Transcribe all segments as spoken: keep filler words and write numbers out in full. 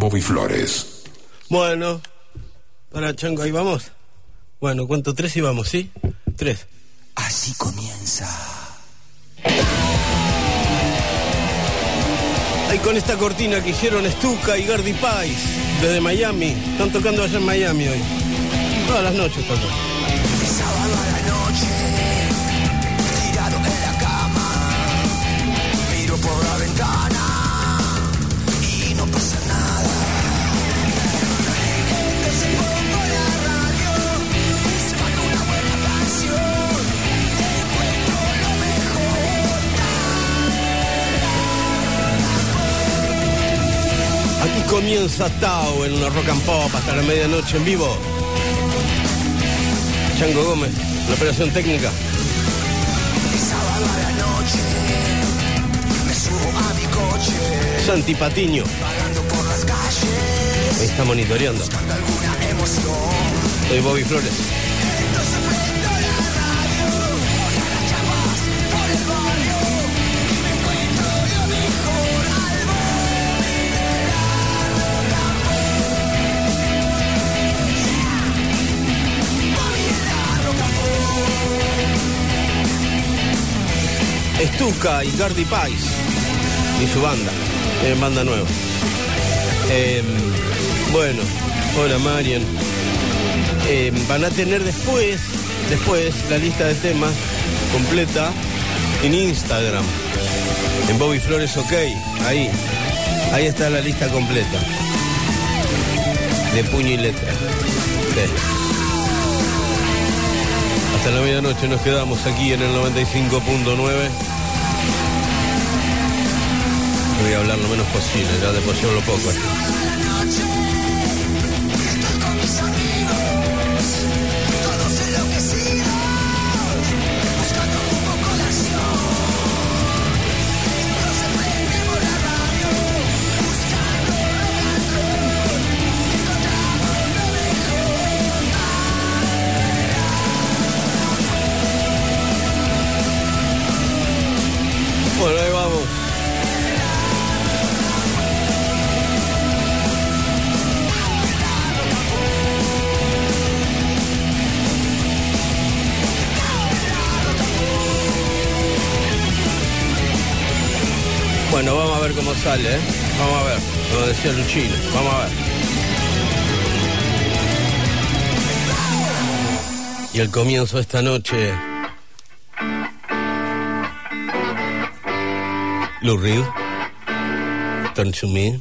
Bobby Flores. Bueno, para Chango, ahí vamos. Bueno, cuento tres y vamos, ¿sí? Tres. Así comienza. Ahí con esta cortina que hicieron Stuka y Gardy Pais desde Miami. Están tocando allá en Miami hoy. Todas las noches tocan. Sábado a la noche, tirado en la cama, miro por la ventana y no pasa nada. Entonces pongo la radio, buscando una buena canción, encuentro lo mejor. Aquí comienza Tao en una rock and pop hasta la medianoche en vivo. Chango Gómez, la operación técnica. Sábado a la noche, me subo a mi coche, Santi Patiño. vagando por las calles, Ahí está monitoreando. buscando alguna emoción. Soy Bobby Flores. Entonces prendo la radio, voy a las chapas por el barrio y me encuentro lo mejor al borde de la rock and pop. Bobby en la rock and pop. Stuka y Gardy Pais y su banda. Tienen banda nueva. Eh, bueno, hola Marian. Eh, van a tener después, después la lista de temas completa en Instagram. En Bobby Flores OK. Ahí. Ahí está la lista completa. De puño y letra. Sí. Hasta la medianoche nos quedamos aquí en el noventa y cinco punto nueve. Voy a hablar lo menos posible, ya después yo lo poco. Bueno, ahí vamos. Bueno, vamos a ver cómo sale, ¿eh? Vamos a ver, como decía Luchino, vamos a ver. Y el comienzo de esta noche, Lou Reed, Turn to Me.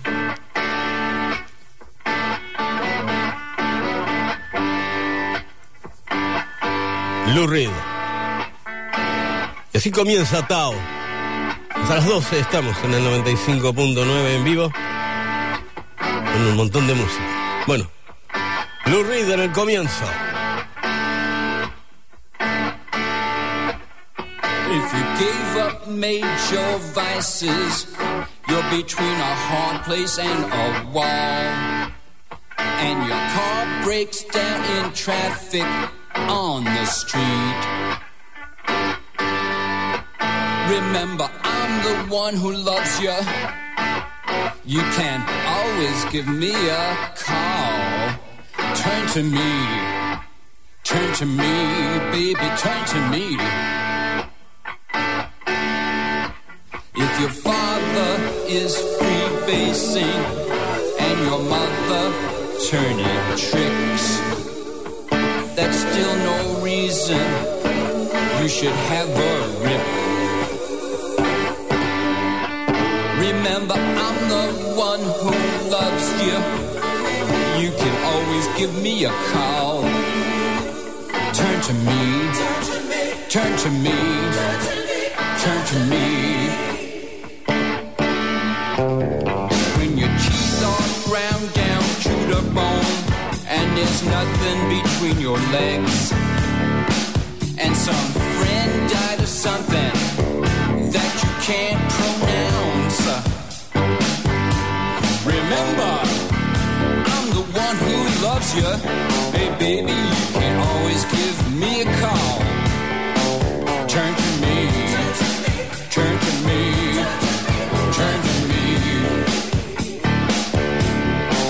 Lou Reed. Y así comienza Tao. Hasta las doce estamos en el noventa y cinco punto nueve en vivo, con un montón de música. Bueno, Lou Reed en el comienzo. If you gave up major vices, you're between a hard place and a wall, and your car breaks down in traffic on the street. Remember, I'm the one who loves you. You can always give me a call. Turn to me, turn to me, baby, turn to me. If your father is freebasing and your mother turning tricks, that's still no reason you should have a rip. Remember, I'm the one who loves you. You can always give me a call. Turn to me, turn to me, turn to me. When your cheeks are ground down to the bone and there's nothing between your legs, and some friend died of something that you can't pronounce. Remember, I'm the one who loves you. Hey baby, you can always give me a call. Turn to me, turn to me, turn to me.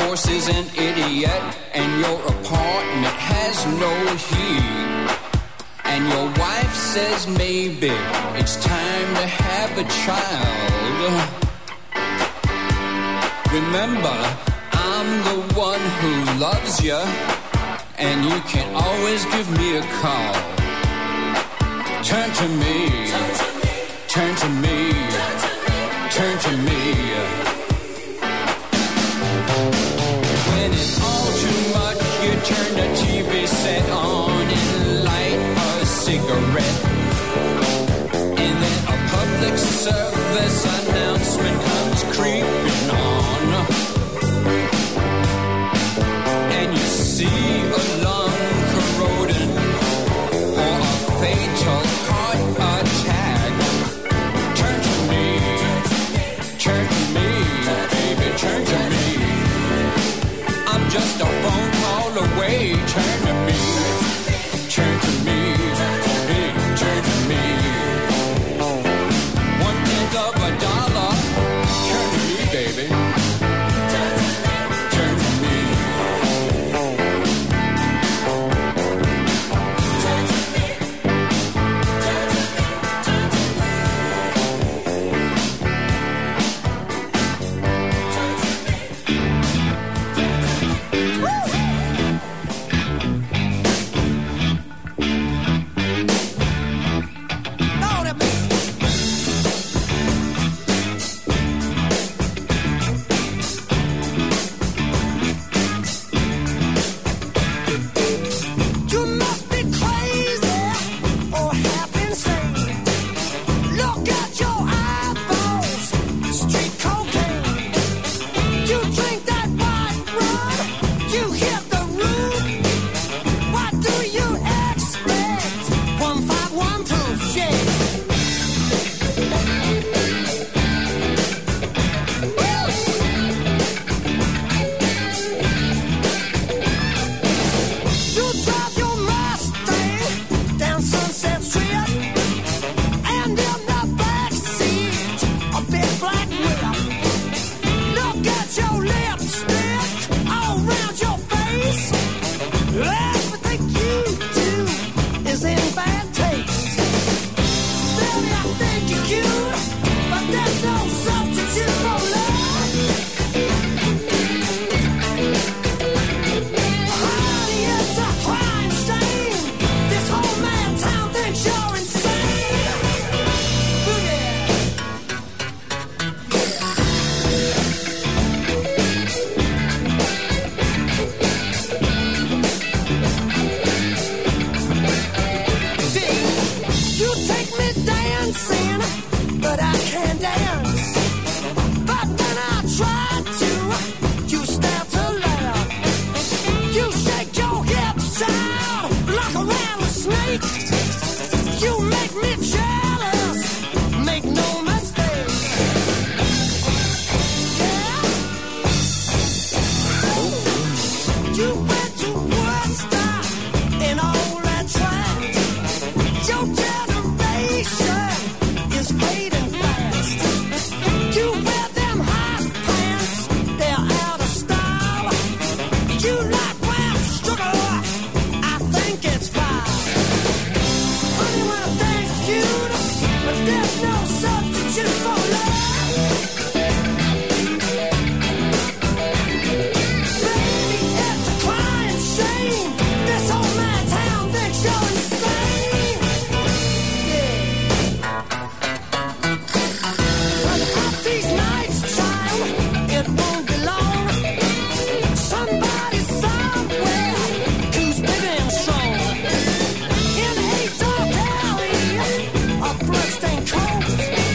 boss is an idiot, and your apartment has no heat. And your wife says maybe it's time to have a child. Remember, I'm the one who loves you, and you can always give me a call. Turn to me, turn to me, turn to me. When it's all too much, you turn the T V set on and light a cigarette. And then a public service announcement comes creeping on. And you see a lung corroding or a fatal heart attack. Turn to me, turn to me, baby, turn to me. I'm just a phone call away. Turn to me, turn to me, baby, turn to me. One tenth of a dollar. Turn to me, baby. Turn to me. Bloodstained clothes.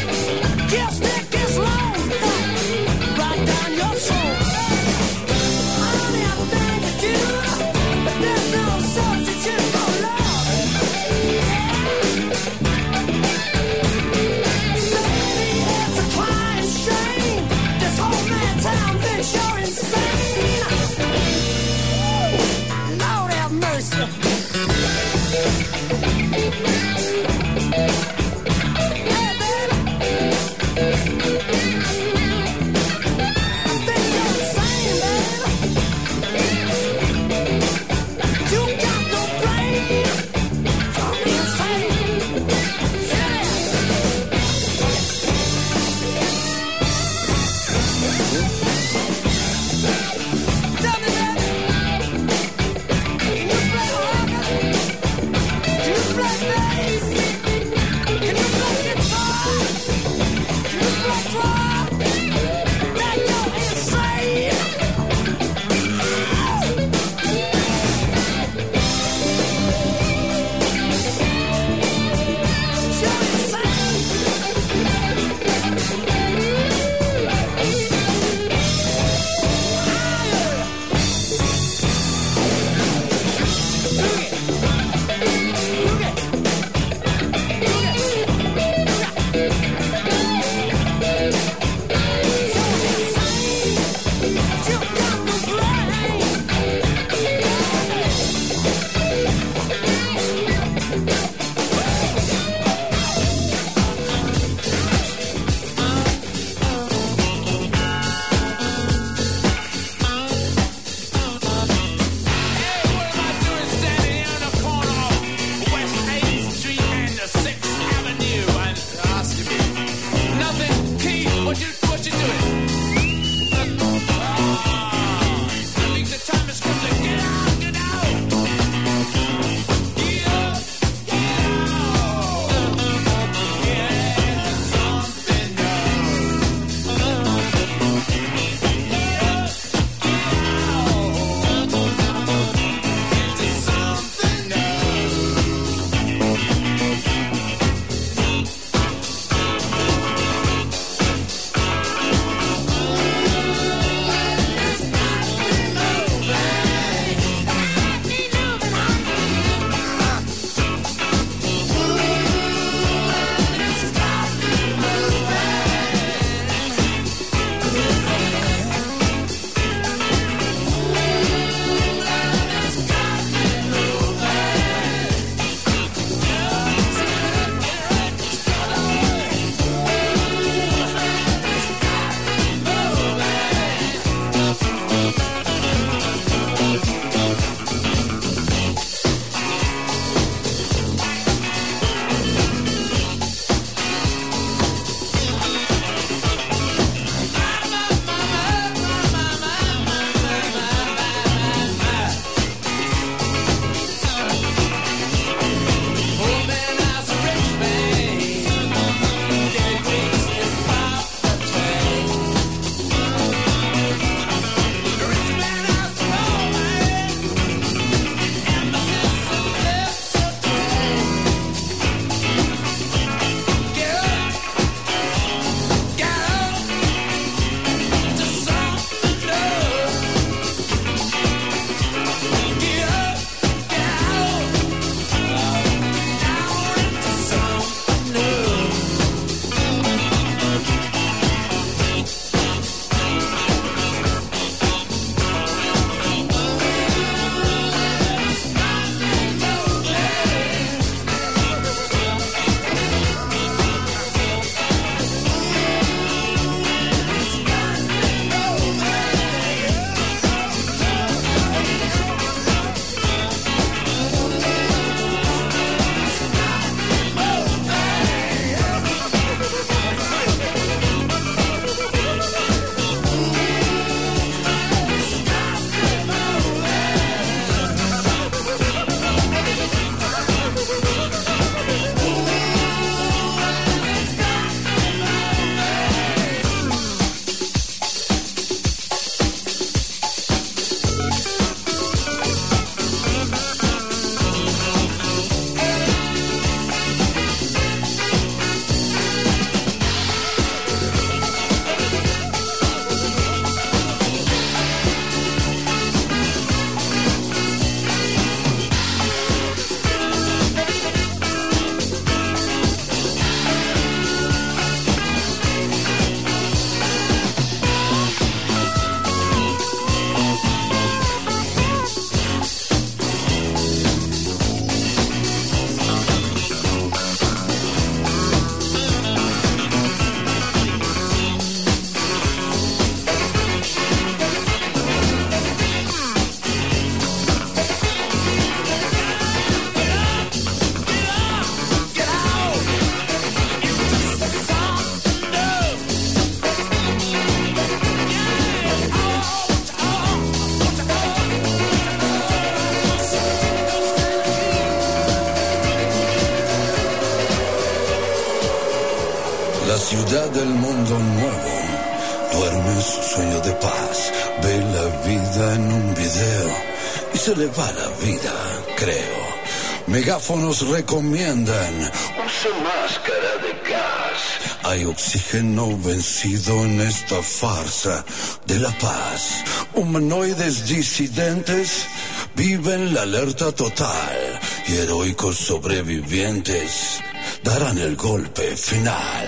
La ciudad del mundo nuevo duerme en su sueño de paz. Ve la vida en un video y se le va la vida, creo. Megáfonos recomiendan: use máscara de gas. Hay oxígeno vencido en esta farsa de la paz. Humanoides disidentes viven la alerta total y heroicos sobrevivientes darán el golpe final.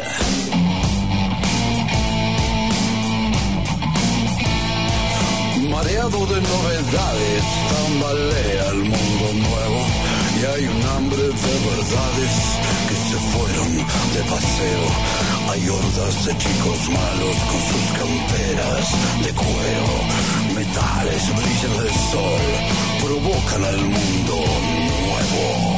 Mareado de novedades, tambalea el mundo nuevo y hay un hambre de verdades que se fueron de paseo. Hay hordas de chicos malos con sus camperas de cuero. Metales brillan del sol, provocan al mundo nuevo.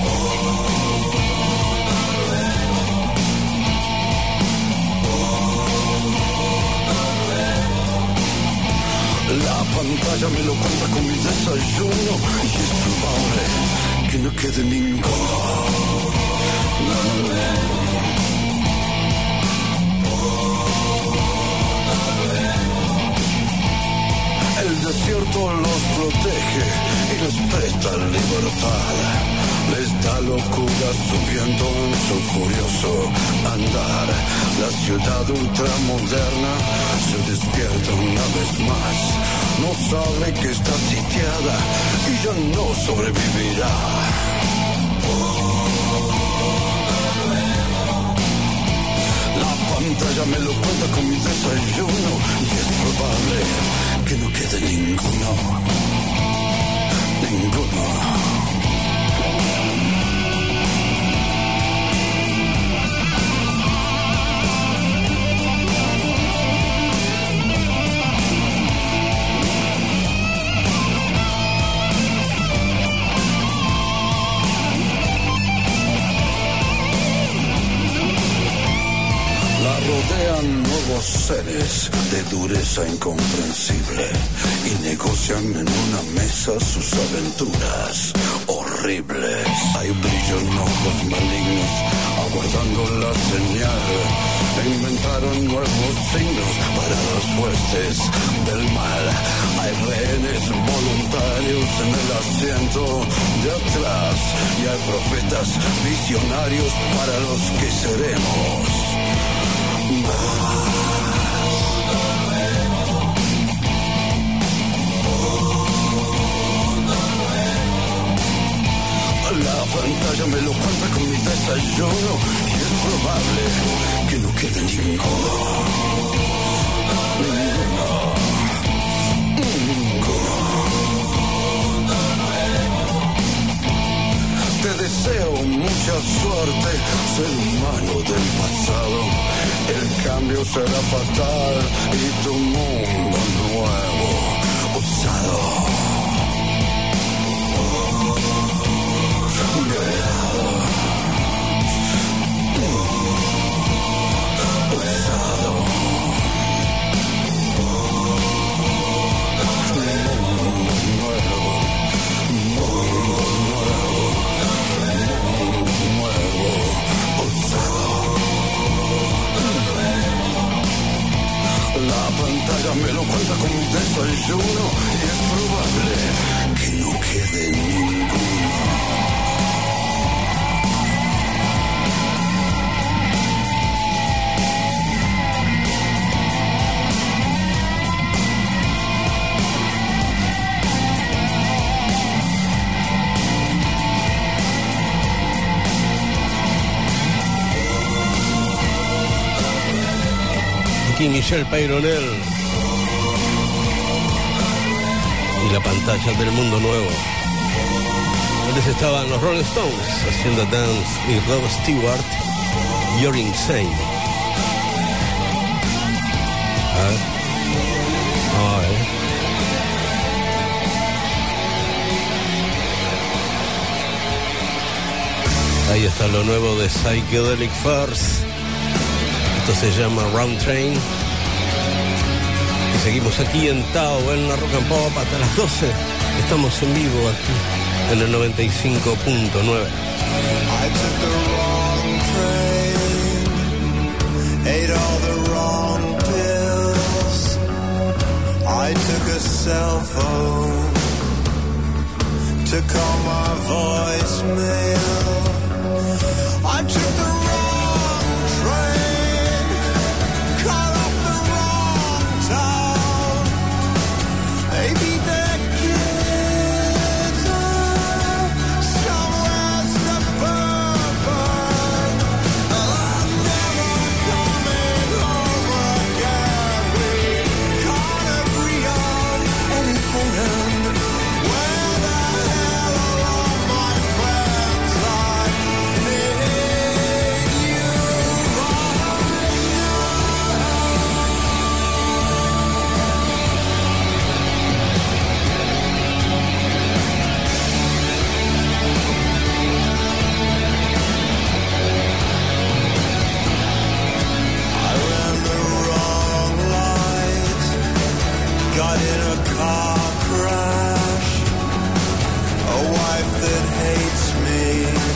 La pantalla me lo cuenta con mi desayuno y es probable que no quede ninguno. No, no, no. El desierto los protege y les presta libertad. Les da locura su viento en su furioso andar. La ciudad ultramoderna se despierta una vez más. No sabe que está sitiada y ya no sobrevivirá. La pantalla me lo cuenta con mi desayuno y es probable que no quede ninguno. Ninguno. Rodean nuevos seres de dureza incomprensible y negocian en una mesa sus aventuras horribles. Hay brillo en ojos malignos aguardando la señal. Inventaron nuevos signos para las huestes del mal. Hay rehenes voluntarios en el asiento de atrás y hay profetas visionarios para los que seremos. La pantalla me lo cuenta con mi desayuno y es probable que no quede ninguno. Ninguno. Ninguno. Te deseo mucha suerte, ser humano del pasado. El cambio será fatal y tu mundo nuevo usado. La pantalla me lo cuenta con mi desayuno y es probable que no quede ninguno. Aquí Michelle Peyronel y la pantalla del mundo nuevo. Antes estaban los Rolling Stones haciendo Dance y Rod Stewart, You're Insane. A ver. A ver. Ahí está lo nuevo de Psychedelic Furs. Esto se llama Round Train. Y seguimos aquí en Tao, en la Rock and Pop hasta las doce. Estamos en vivo aquí en el noventa y cinco punto nueve. I took the wrong train. the wrong pills. I took a cell phone to call my voicemail. I took the wrong train, caught off the wrong town. Maybe their kids are somewhere suburban. I'm never coming home again. We can't agree on anything. Where the hell are all my friends? I need you right I ran the wrong light, got in a car crash, a wife that hates me,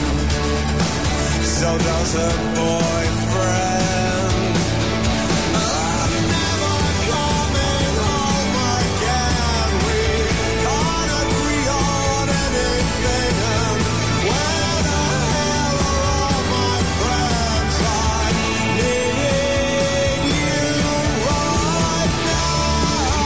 so does her boyfriend. I'm never coming home again. We can't agree on anything. And where the hell are all my friends? I need you right now.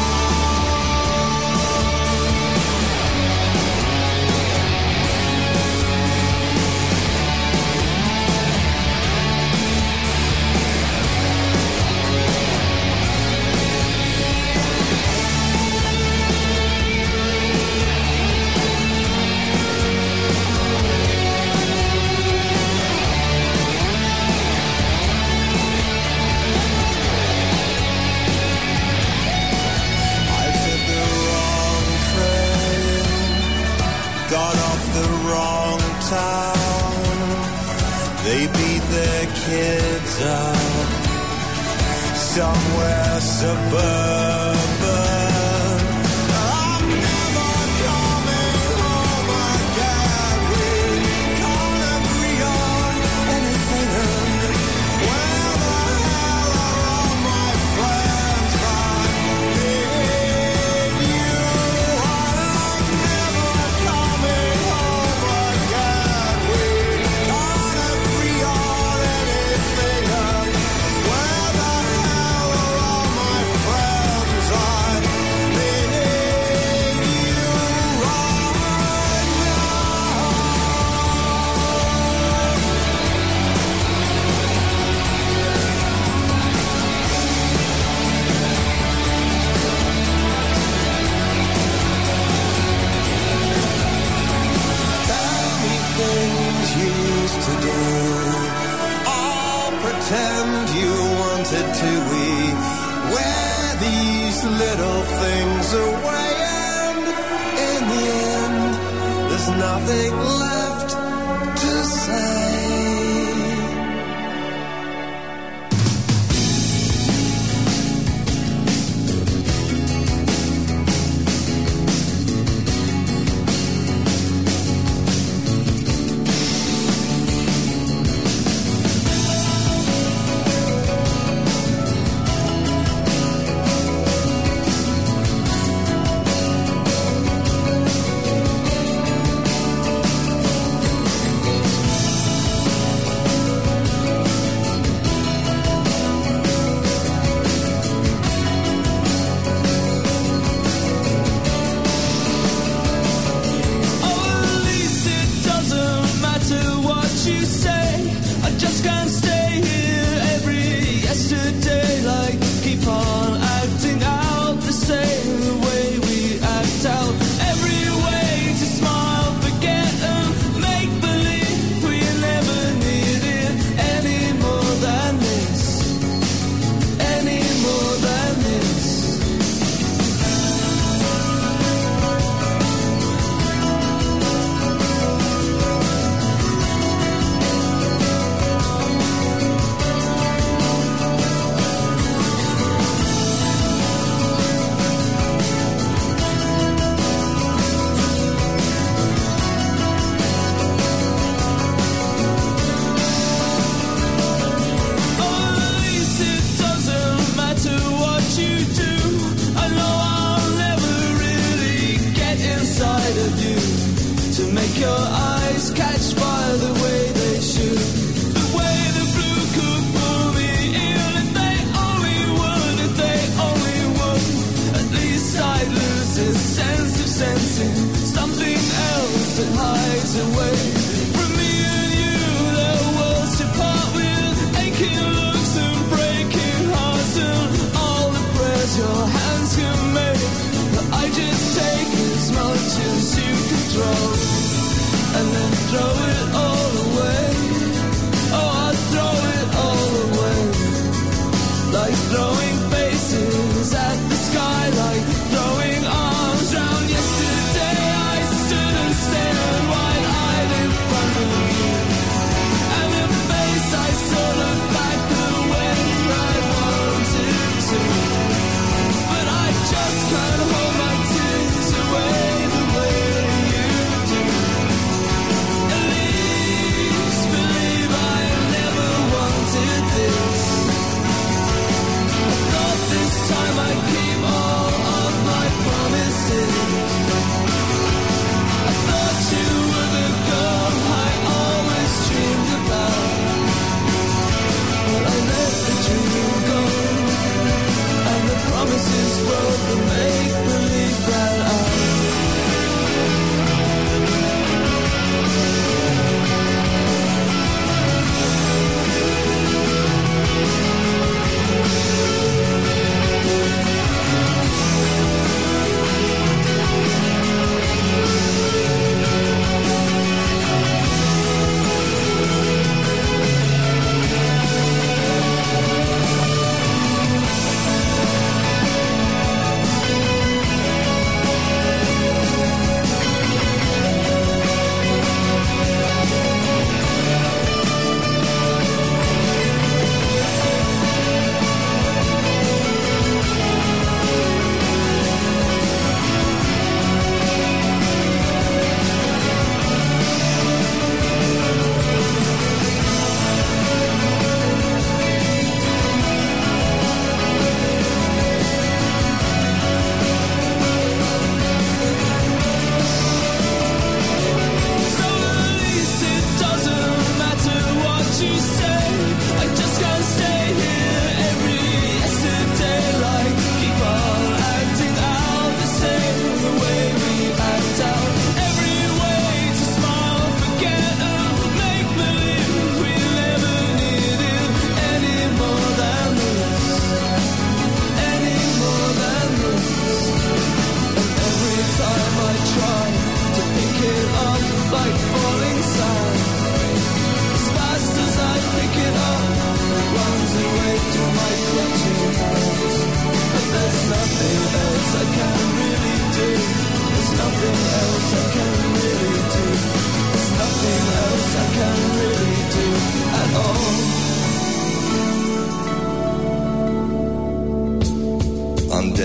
I took the wrong train, got off the wrong town. They beat their kids up somewhere suburban. I'm never coming home again. We can't agree on anything. Where the hell are all my friends? I need you. I'm never coming home again. We can't agree on anything. Where the hell are all my friends? I need you right Tell me things you used to do. I'll pretend you wanted to. We wear these little things away, and in the end, there's nothing left to say.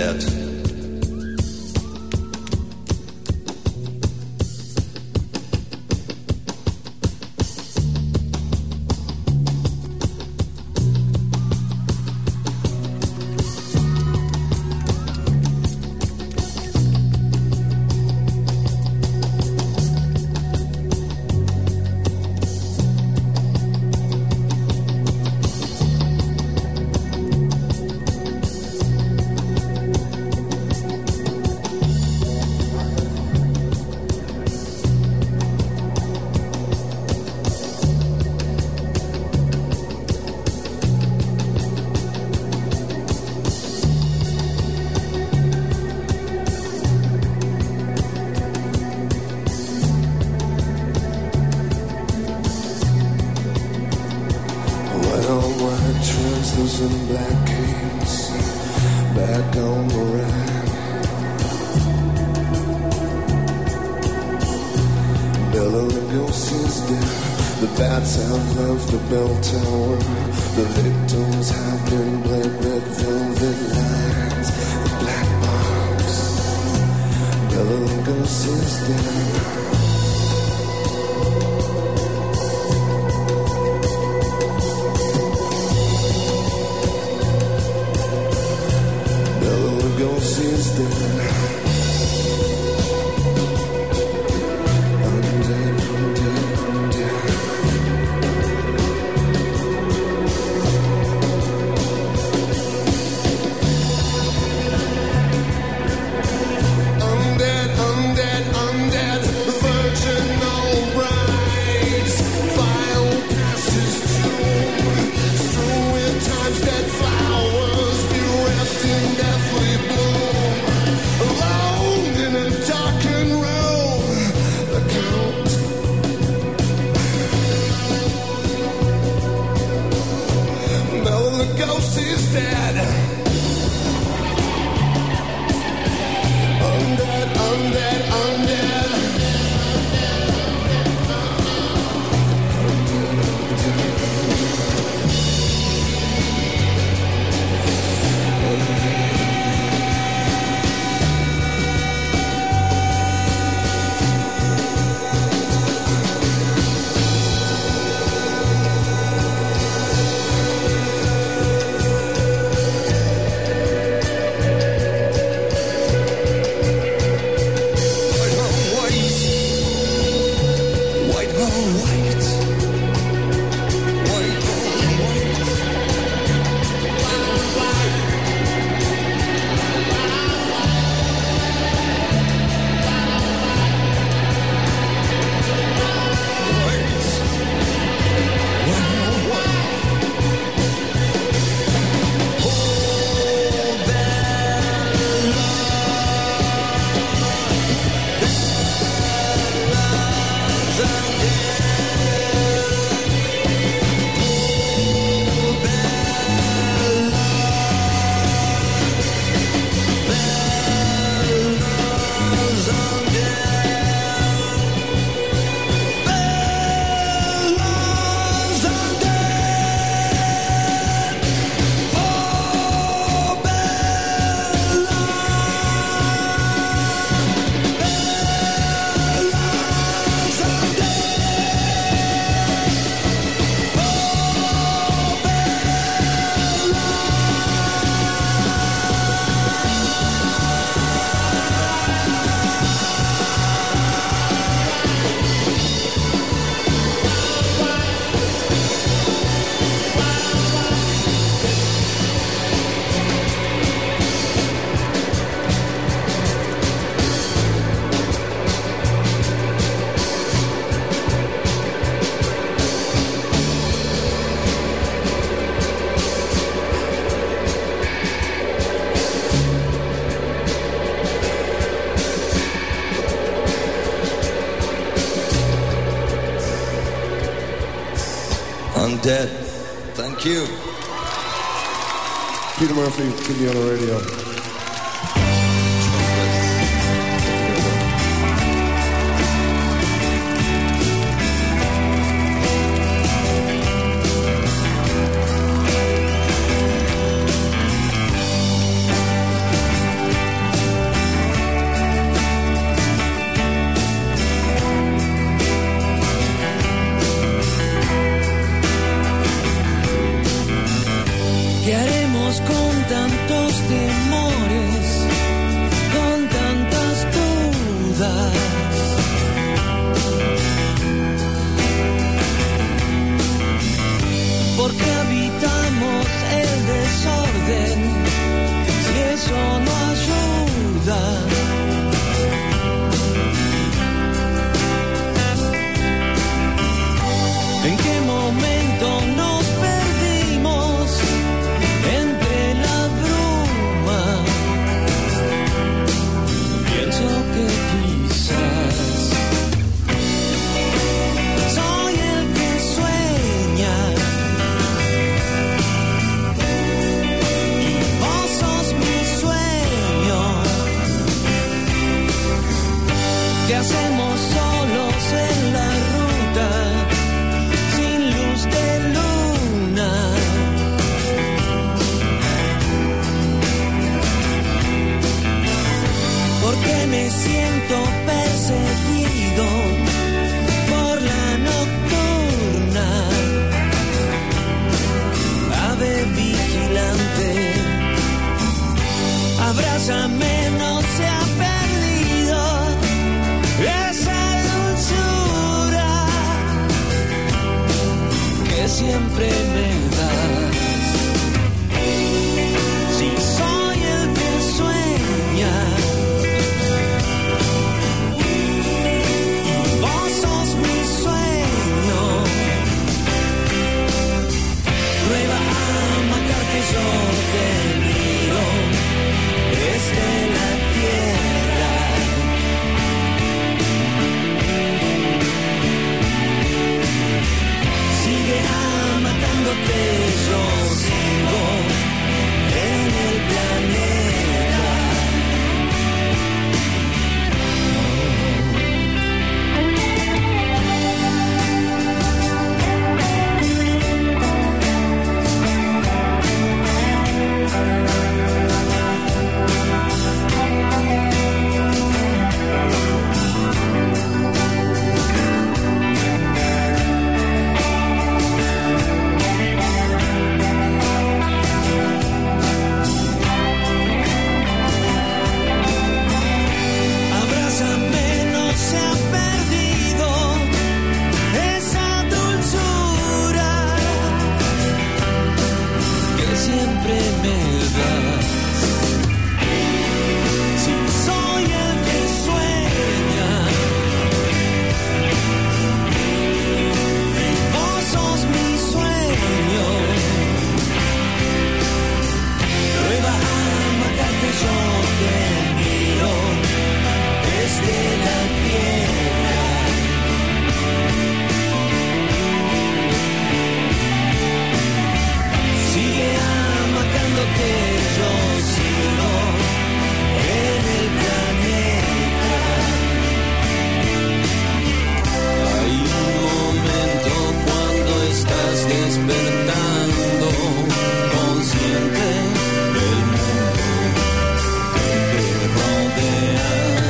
dead. And black canes back on the ride. Bela Lugosi's dead. The bats have left the bell tower. The victims have been bled. Red velvet lines, the black box. Bela Lugosi's dead. Is dead. I'm dead, I'm dead, I'm dead. I'm dead, I'm dead, I'm dead. Virginal brides, file passes tomb, strewn with time's dead flowers, bereft in deathly bloom. Ghost is dead. I'm dead, I'm dead, I'm dead. I'm dead, I'm dead. I'm dead. I'm dead. Thank you. Peter Murphy, T V on the radio. ¿Qué haremos con tantos temores, con tantas dudas? Porque habitamos el desorden, si eso no ayuda. ¿En qué momento nos perdimos entre la bruma? Pienso que quizás soy el que sueña y vos sos mi sueño. ¿Qué hacemos solos en la ruta? De luna, porque me siento perseguido por la nocturna, ave vigilante, abrázame, no se ha perdido esa dulzura que siempre me das. Si soy el que sueña y vos sos mi sueño, prueba a matar que yo te miro desde la tierra. Sigue amacándote, yo sigo en el planeta. Abrázame, no se ha perdido esa dulzura que siempre me das. Si soy el que sueña y vos sos mi sueño, prueba a matarte, yo te miro desde la tierra. Sigue amacándote, yo sigo en el planeta. Hay un momento cuando estás despertando, consciente del mundo que te rodea.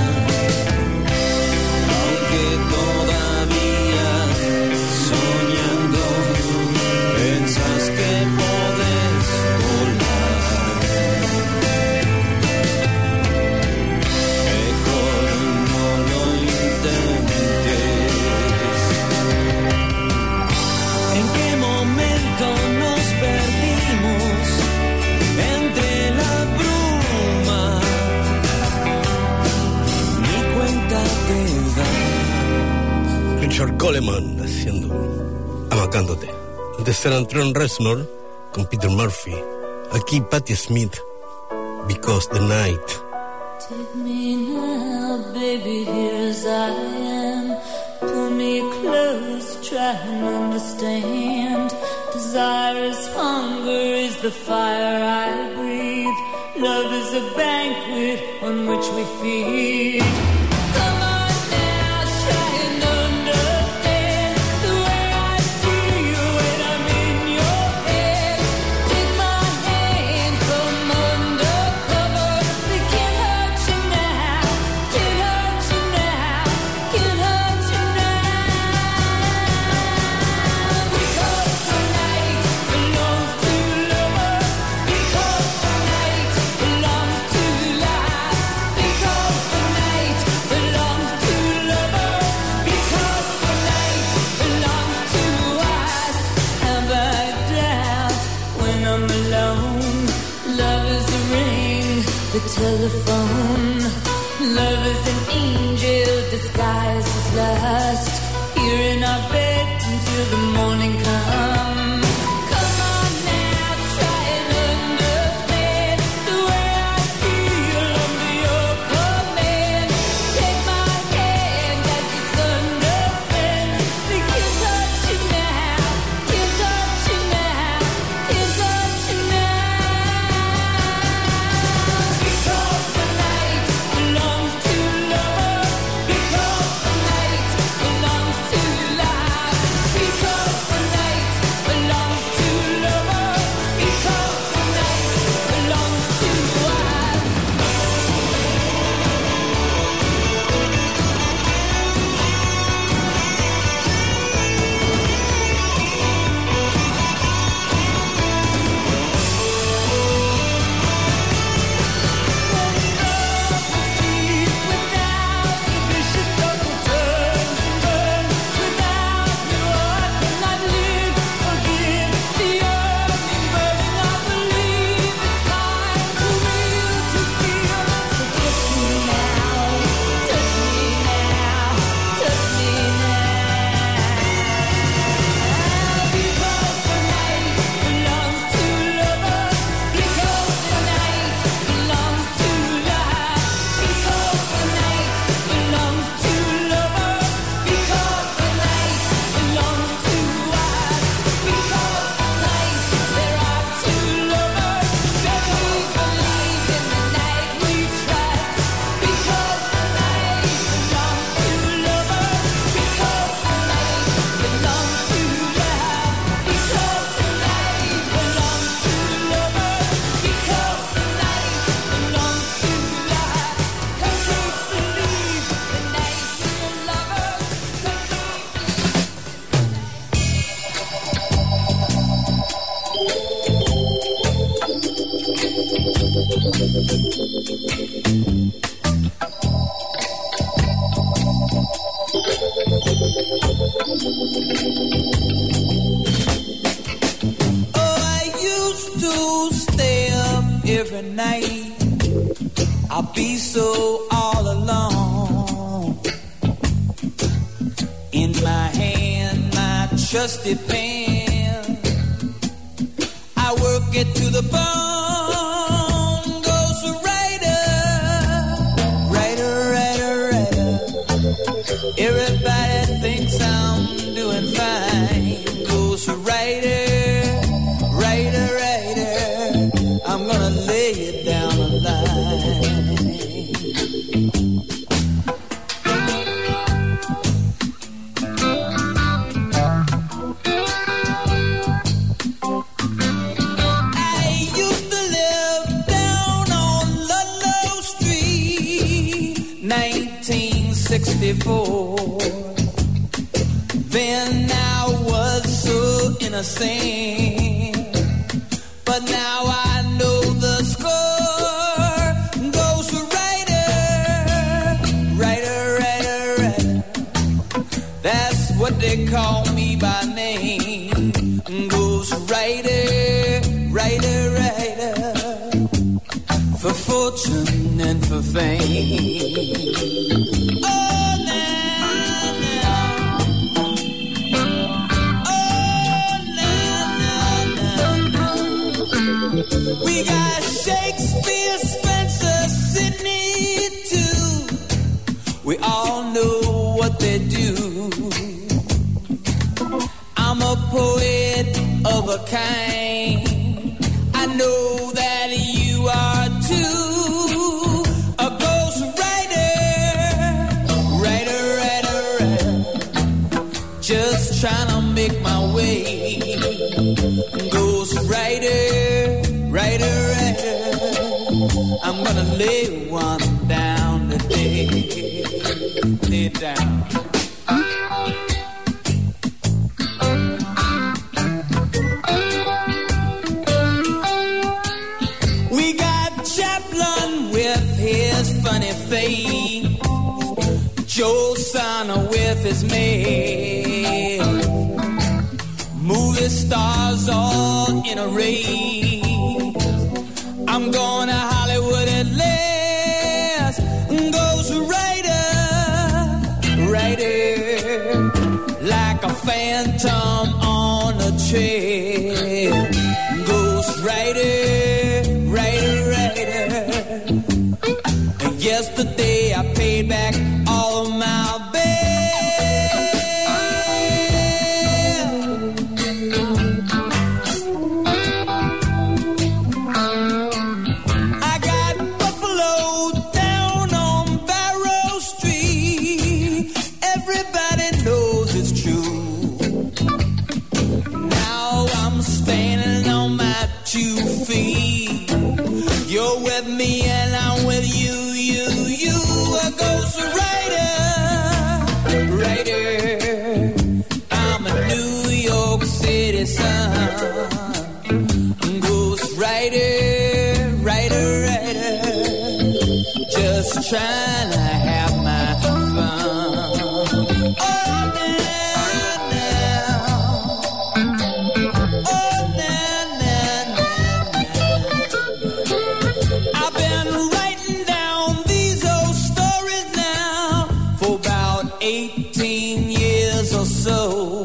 Aunque todavía soñando pensas que podés volar, mejor no lo intentes. ¿En qué momento nos perdimos entre la bruma? Ni cuenta te das. Richard Coleman haciendo Amacándote. Antes era Trent Reznor con Peter Murphy. Aquí Patti Smith, Because the Night. Take me now, baby, here as I am. Pull me close, try and understand. Desire is hunger, is the fire I breathe. Love is a banquet on which we feed. Come on now, try and understand the way I feel when I'm in your head. Take my hand from under cover. They can't hurt you now, can't hurt you now, can't hurt you now. Because the night belongs to lovers. the telephone. Love is an angel disguised as lust. Here in our bed until the morning comes. Come on now, try and understand the way I feel under your command. Take my hand as the sun descends. We can't touch you now, can't touch you now, can't touch you now. Because the night belongs to lovers. Because the night belongs to life. Because the night belongs to lovers. Because the night belongs to us. Without the vicious circle turns and burns. Without you I cannot live. Forgive the yearning, burning. I believe it's time for real to feel. So touch me now, touch me now, touch me now. Because the night belongs to lovers. Because the night belongs to life. Because the night belongs to lovers. Because the night belongs to us. Because tonight there are two lovers. Very believe in the night we trust. Because the night belongs to lovers. Because the night belongs to love. Because the night belongs to lovers. Because the night belongs to love. Cause we believe the night we're lovers. Cause we Oh, I used to stay up every night. I'll be so all alone. In my hand, my trusty pen. I work it to the bone. Goes the writer, writer, writer, writer. Everybody thinks I'm doing fine. Goes the writer, writer, writer. I'm gonna lay it down the line. I used to live down on Ludlow Street, nineteen sixty-four. Then I was so innocent, but now I know the score. Goes the writer, writer, writer, writer. That's what they call me by name. Goes writer, writer, writer. For fortune and for fame. Oh, now, now. Oh, now, now, now. We got Shakespeare, Spencer, Sidney, too. We all know what they do. I'm a poet of a kind. I know that you are too. A ghost writer, writer, writer, writer. Just trying to make my way. Ghost writer, writer, writer. I'm gonna lay one down today. Lay it down. We got Chaplin with his funny face, Joe Sana with his maid, movie stars all in a race. I'm going to Hollywood and live. trail. Ghost rider, rider, rider. And yesterday I paid back all of my bail. I got buffalo down on Barrow Street. Everybody knows it's true. Now I'm standing on my two feet. You're with me and I'm with you, you, you. A ghost rider, rider. I'm a New York City son. Ghost rider, rider, rider. Just trying to have my fun. Oh, now, now. Oh, now, now, now. I've been writing down these old stories now for about eighteen years or so.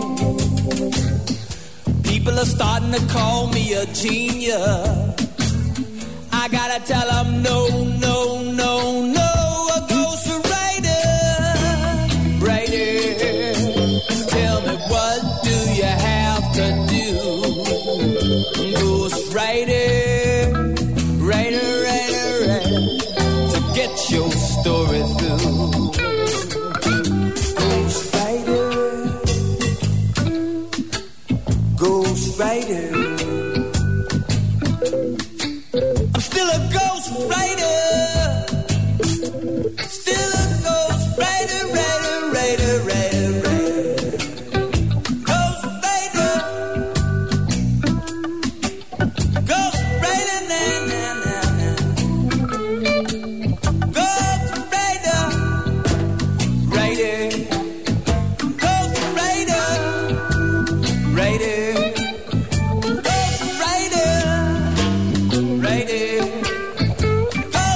People are starting to call me a genius. I gotta tell them no, no, no, no. A ghost rider, rider. Tell me what do you have to do? Ghost rider, rider, rider, rider. To get your story through. Ghost rider, ghost rider. I'm still a ghost rider. Still a ghost rider, rider, rider, rider, rider. Ghost rider. Ghost rider, na, na, na, na. Ghost rider. Rider. Ghost rider. Rider. Ghost rider. Rider. Ghost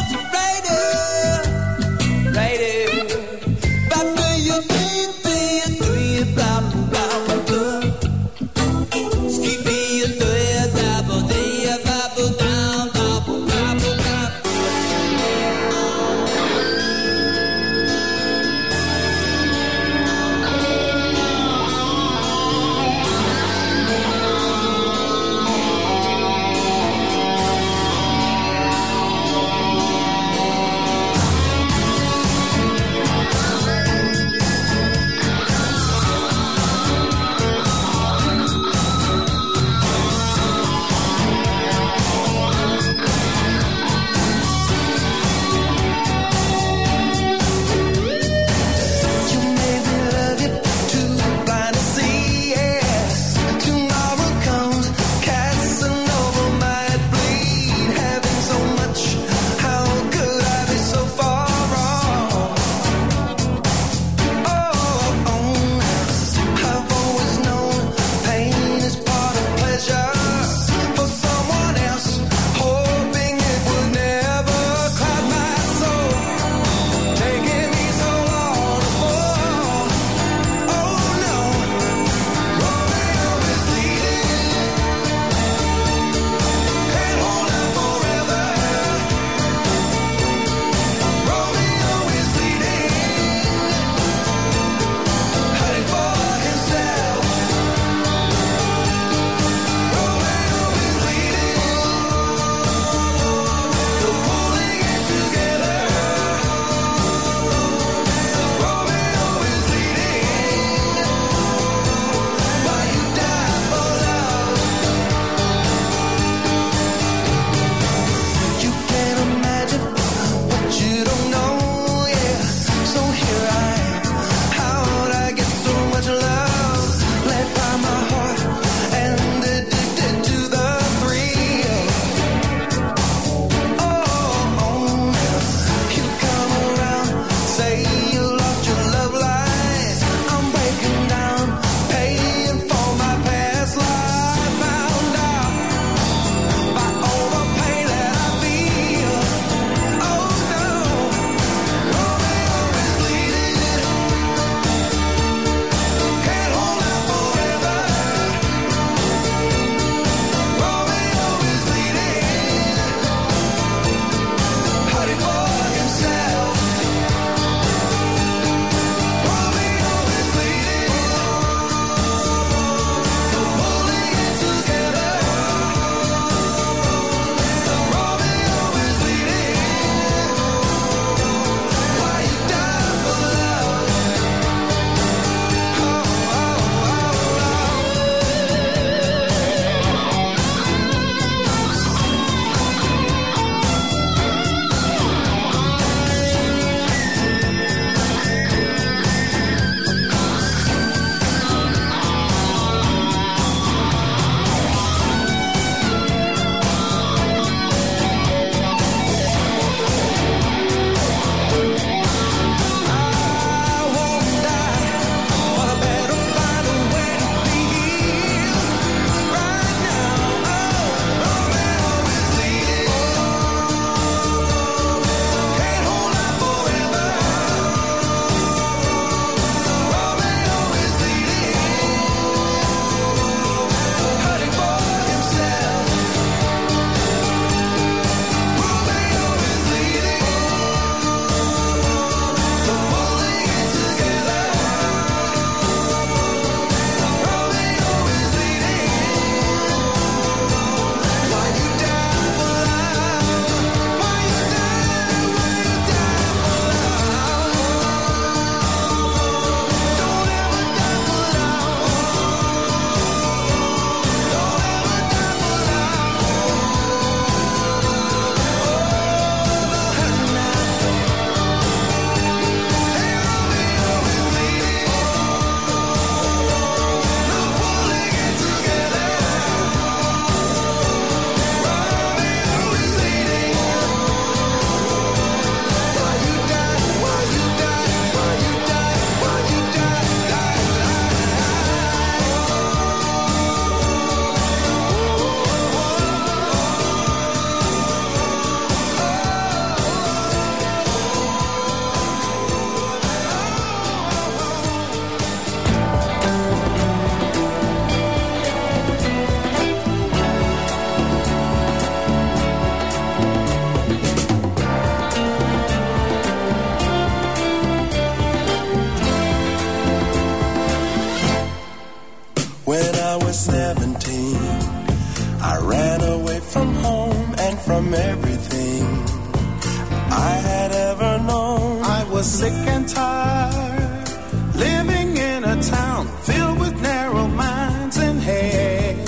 from everything I had ever known. I was sick and tired, living in a town filled with narrow minds and hate.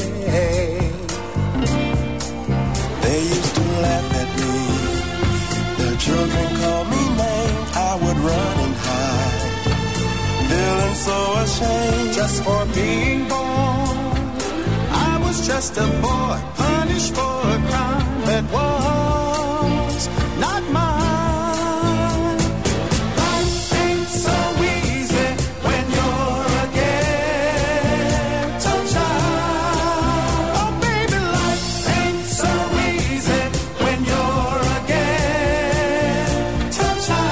They used to laugh at me, their children called me names. I would run and hide, feeling so ashamed just for being born. I was just a boy, punished for a crime that was not mine. Life ain't so easy when you're a ghetto child. Oh baby, life ain't so easy when you're a ghetto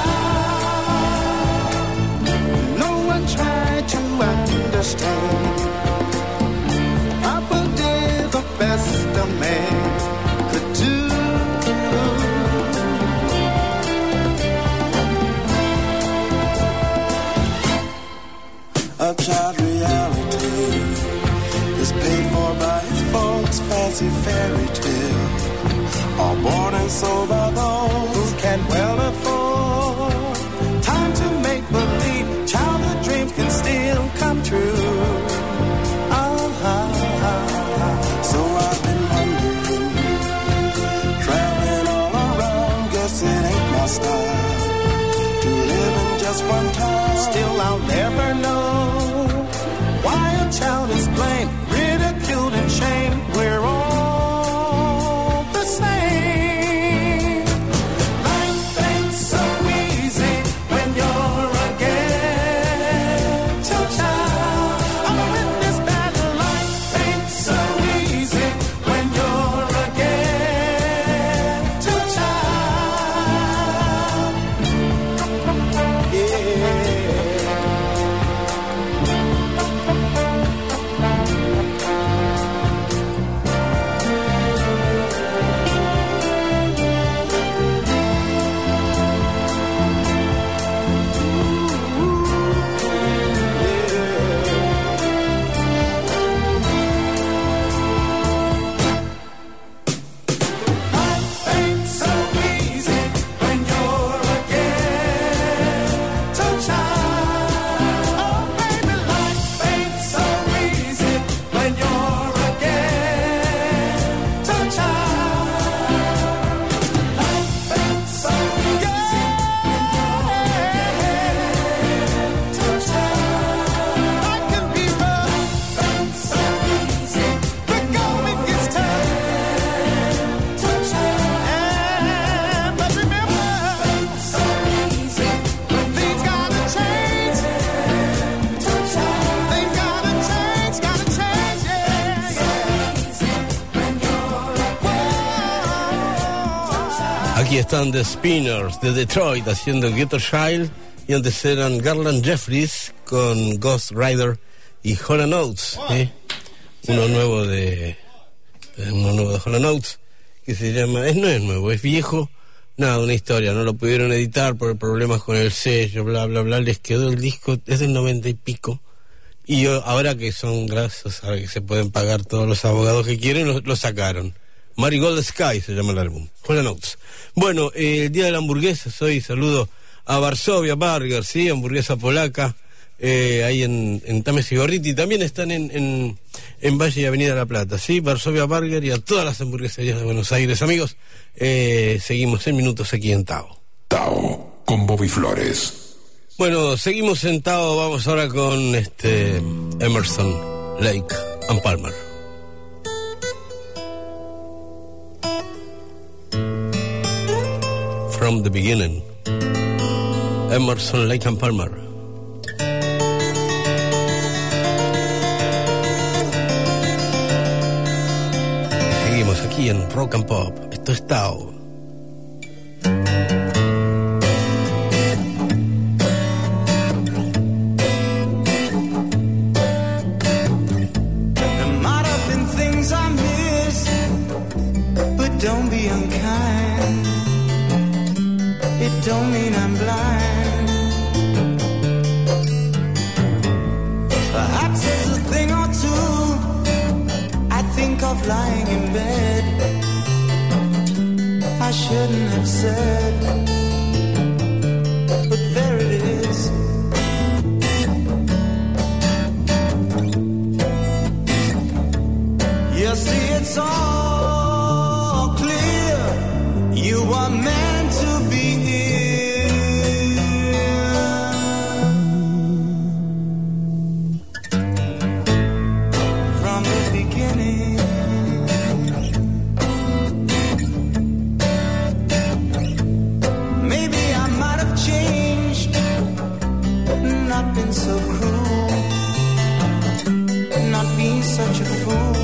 child. No one tried to understand. Papa did the best a man could do. A child reality is paid for by his folks' fancy fairy tale, all bought and sold by those who can well afford. Time to make believe childhood dreams can still come true. Uh-huh. So I've been wondering, traveling all around, guess it ain't my style to live in just one time. Still I'll never know why a child is blamed, ridiculed and shamed. We're all the same. Life ain't so easy when you're a ghetto child. I'm a witness that life ain't so easy when you're a ghetto child. Yeah. Life ain't so easy when you're a ghetto child. Oh baby, life ain't so easy when you're a ghetto child. Life ain't so easy when you're a ghetto child. Life can be rough, ain't so easy. But going gets tough. And but remember, so easy when things gotta change. Things gotta change, gotta change, yeah, yeah. Aquí están The Spinners de Detroit haciendo Ghetto Child, y antes eran Garland Jeffries con Ghost Rider y Hall and Oates, ¿eh? Uno nuevo de uno nuevo de Hall and Oates que se llama, es, no es nuevo, es viejo, nada, una historia, no lo pudieron editar por problemas con el sello, bla bla bla, les quedó el disco, es del noventa y pico, y yo, ahora que son gracias, ahora que se pueden pagar todos los abogados que quieren, lo, lo sacaron. Marigold Sky se llama el álbum, Hall and Oates. Bueno, eh, el día de la hamburguesa, hoy saludo a Varsovia Burger, sí, hamburguesa polaca, eh, ahí en, en Tames y Gorriti, también están en, en, en Valle y Avenida La Plata, sí, Varsovia Burger, y a todas las hamburgueserías de Buenos Aires. Amigos, eh, seguimos en minutos aquí en Tao. Tao, con Bobby Flores. Bueno, seguimos sentados, vamos ahora con este Emerson, Lake and Palmer. From the beginning, Emerson, Lake and Palmer. Seguimos aquí en Rock and Pop. Esto es Tao. Don't be unkind. It don't mean I'm blind. Perhaps there's a thing or two I think of lying in bed. I shouldn't have said, but there it is. You see, it's all clear. You are meant to be here from the beginning. Maybe I might have changed, not been so cruel, not been such a fool.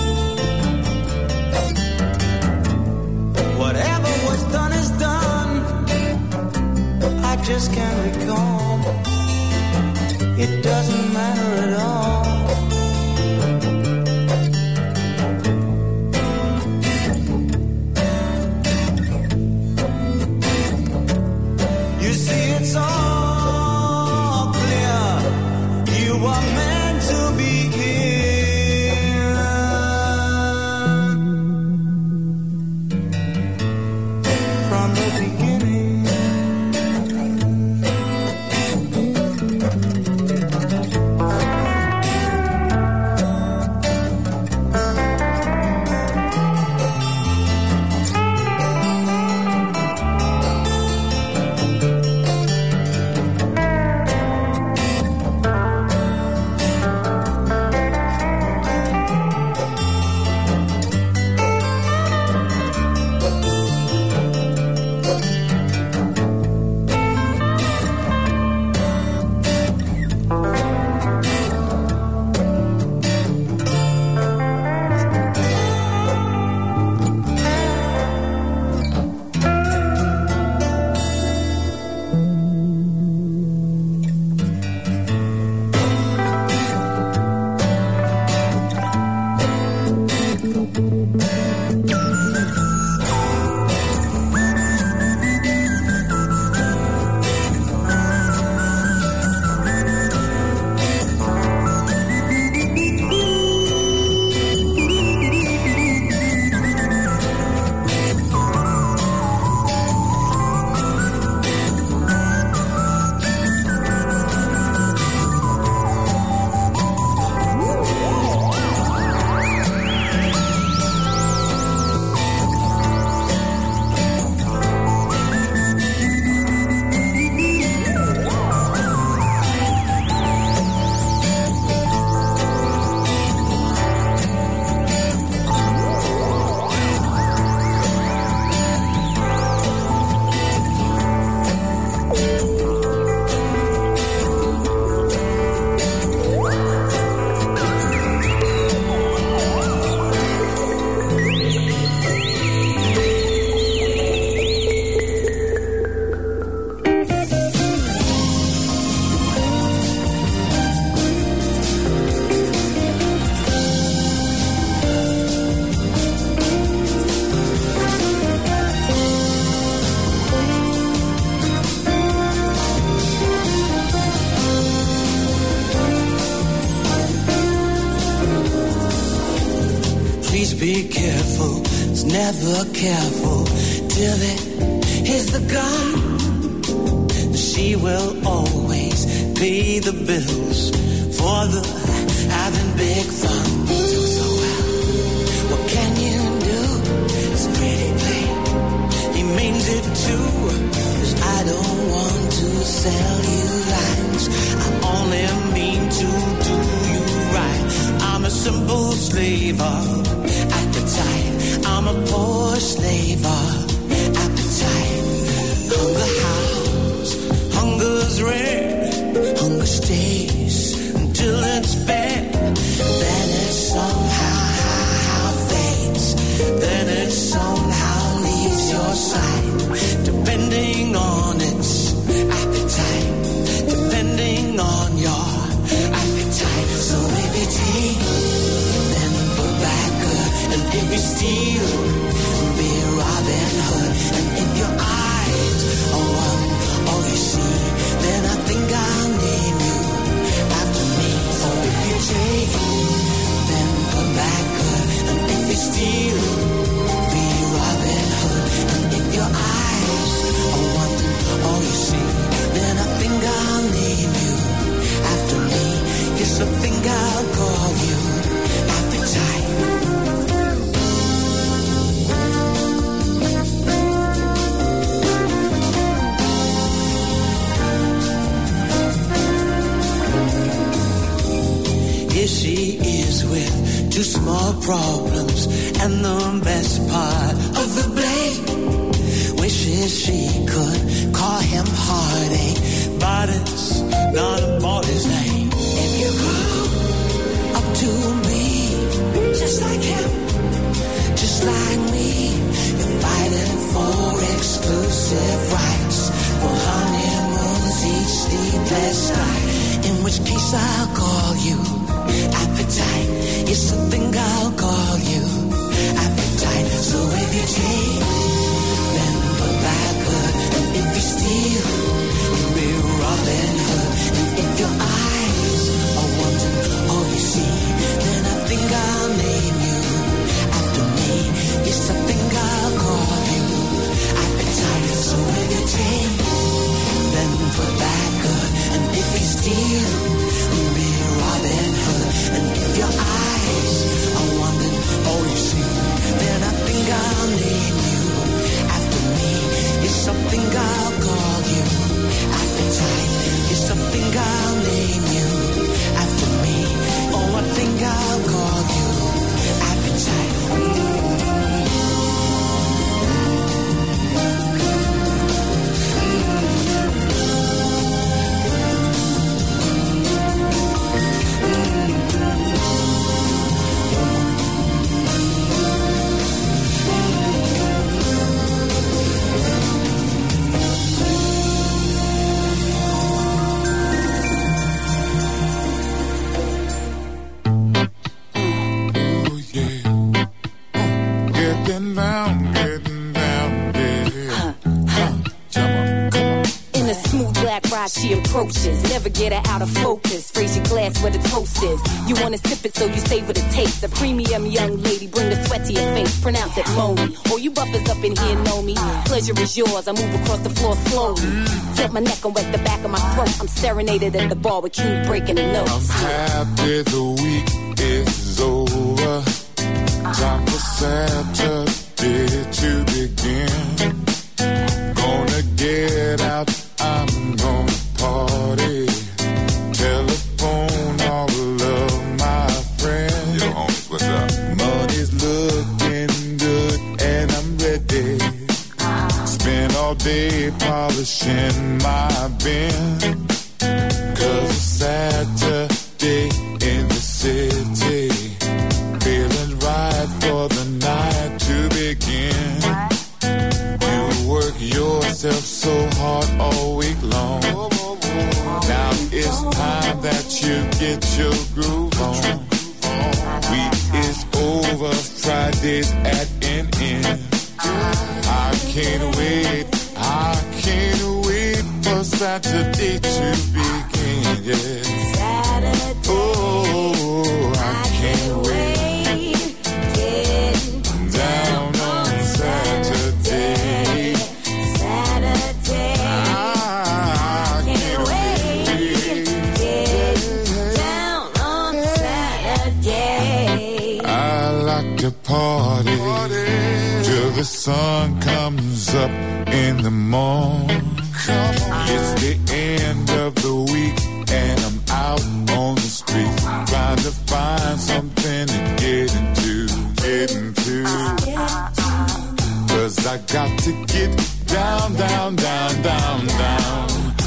Whatever was done is done. I just can't recall. It doesn't matter at all. You see, it's all clear. You are meant to be here from the beginning. Be careful, it's never careful till it hits the gun. She will always pay the bills for the having big fun. So, so well, what can you do? It's pretty plain. He means it too, 'cause I don't want to sell you lines. I only mean to do you right. I'm a simple slave of appetite. I'm a poor slave of appetite. Hunger howls, hunger's red, hunger stays until it's fed. Then it somehow fades. Then it somehow leaves your sight, depending on its appetite, depending on your appetite. So baby, take then put back to small problems, and the best part of the blame wishes she could call him heartache, but it's not about his name. If you grow up to be just like him, just like me, you're fighting for exclusive rights, for honeymoons each sleepless night, in which case I'll call you appetite. Yes, I think I'll call you appetite. So if you take, then put back good, and if you steal, you'll be Robin Hood, and if your eyes are wanting all you see, then I think I'll name you after me. Yes, I think I'll call you appetite. So if you take, then put back good, and if you steal, you'll be Robin Hood, and if your eyes are wanting all you see, then I think I'll name you after me. Yes, I think I'll call you appetite. Yes, I think I'll name you after me. Oh, I think I'll call you appetite. She approaches, never get her out of focus. Raise your glass where the toast is. You wanna sip it so you savor the taste. A premium young lady, bring the sweat to your face. Pronounce it Moni. All you buffers up in here know me. Pleasure is yours, I move across the floor slowly. Tilt my neck and wet the back of my throat. I'm serenaded at the bar with King breaking the notes. I'm happy the week is over. Time for Saturday to begin. Gonna get out, I'm gonna party. Telephone all of my friends. Yo, homies, what's up? Money's looking good and I'm ready. Spend all day polishing my bin. Cause it's Saturday in the city. Feeling right for the night to begin. You work yourself so hard all week long. Now it's time that you get your groove on. Week is over, Friday's at an end. I can't wait, I can't wait for Saturday to begin, yeah. Saturday, oh, I can't wait, get down on Saturday. Saturday, I can't wait, get down on Saturday. I like to party till the sun comes up in the morning. It's the end of the week and I'm out on the street trying to find something to get into, get into. Cause I got to get down, down, down, down, down.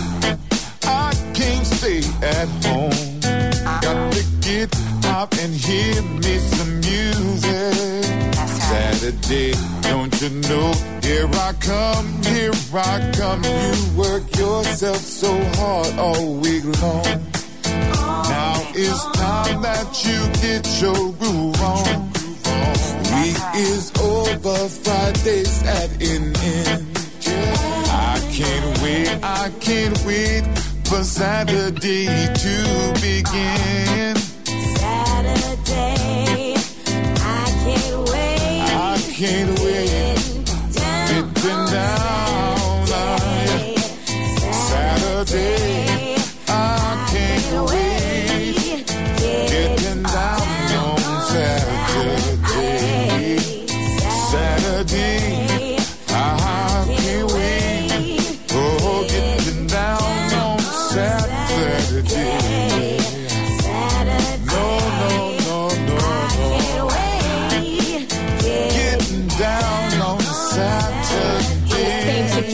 I can't stay at home. Got to get out and hear me some music. Saturday, don't you know? Here I come, here I come. You work yourself so hard all week long. Now it's time that you get your groove on. Week is over, Friday's at an end. I can't wait, I can't wait for Saturday to begin. Saturday, I can't wait. I can't wait. Getting down, uh, Saturday, I can't wait. Getting down on Saturday, Saturday, I can't wait. Oh, getting down on Saturday. No, no, no, no, no.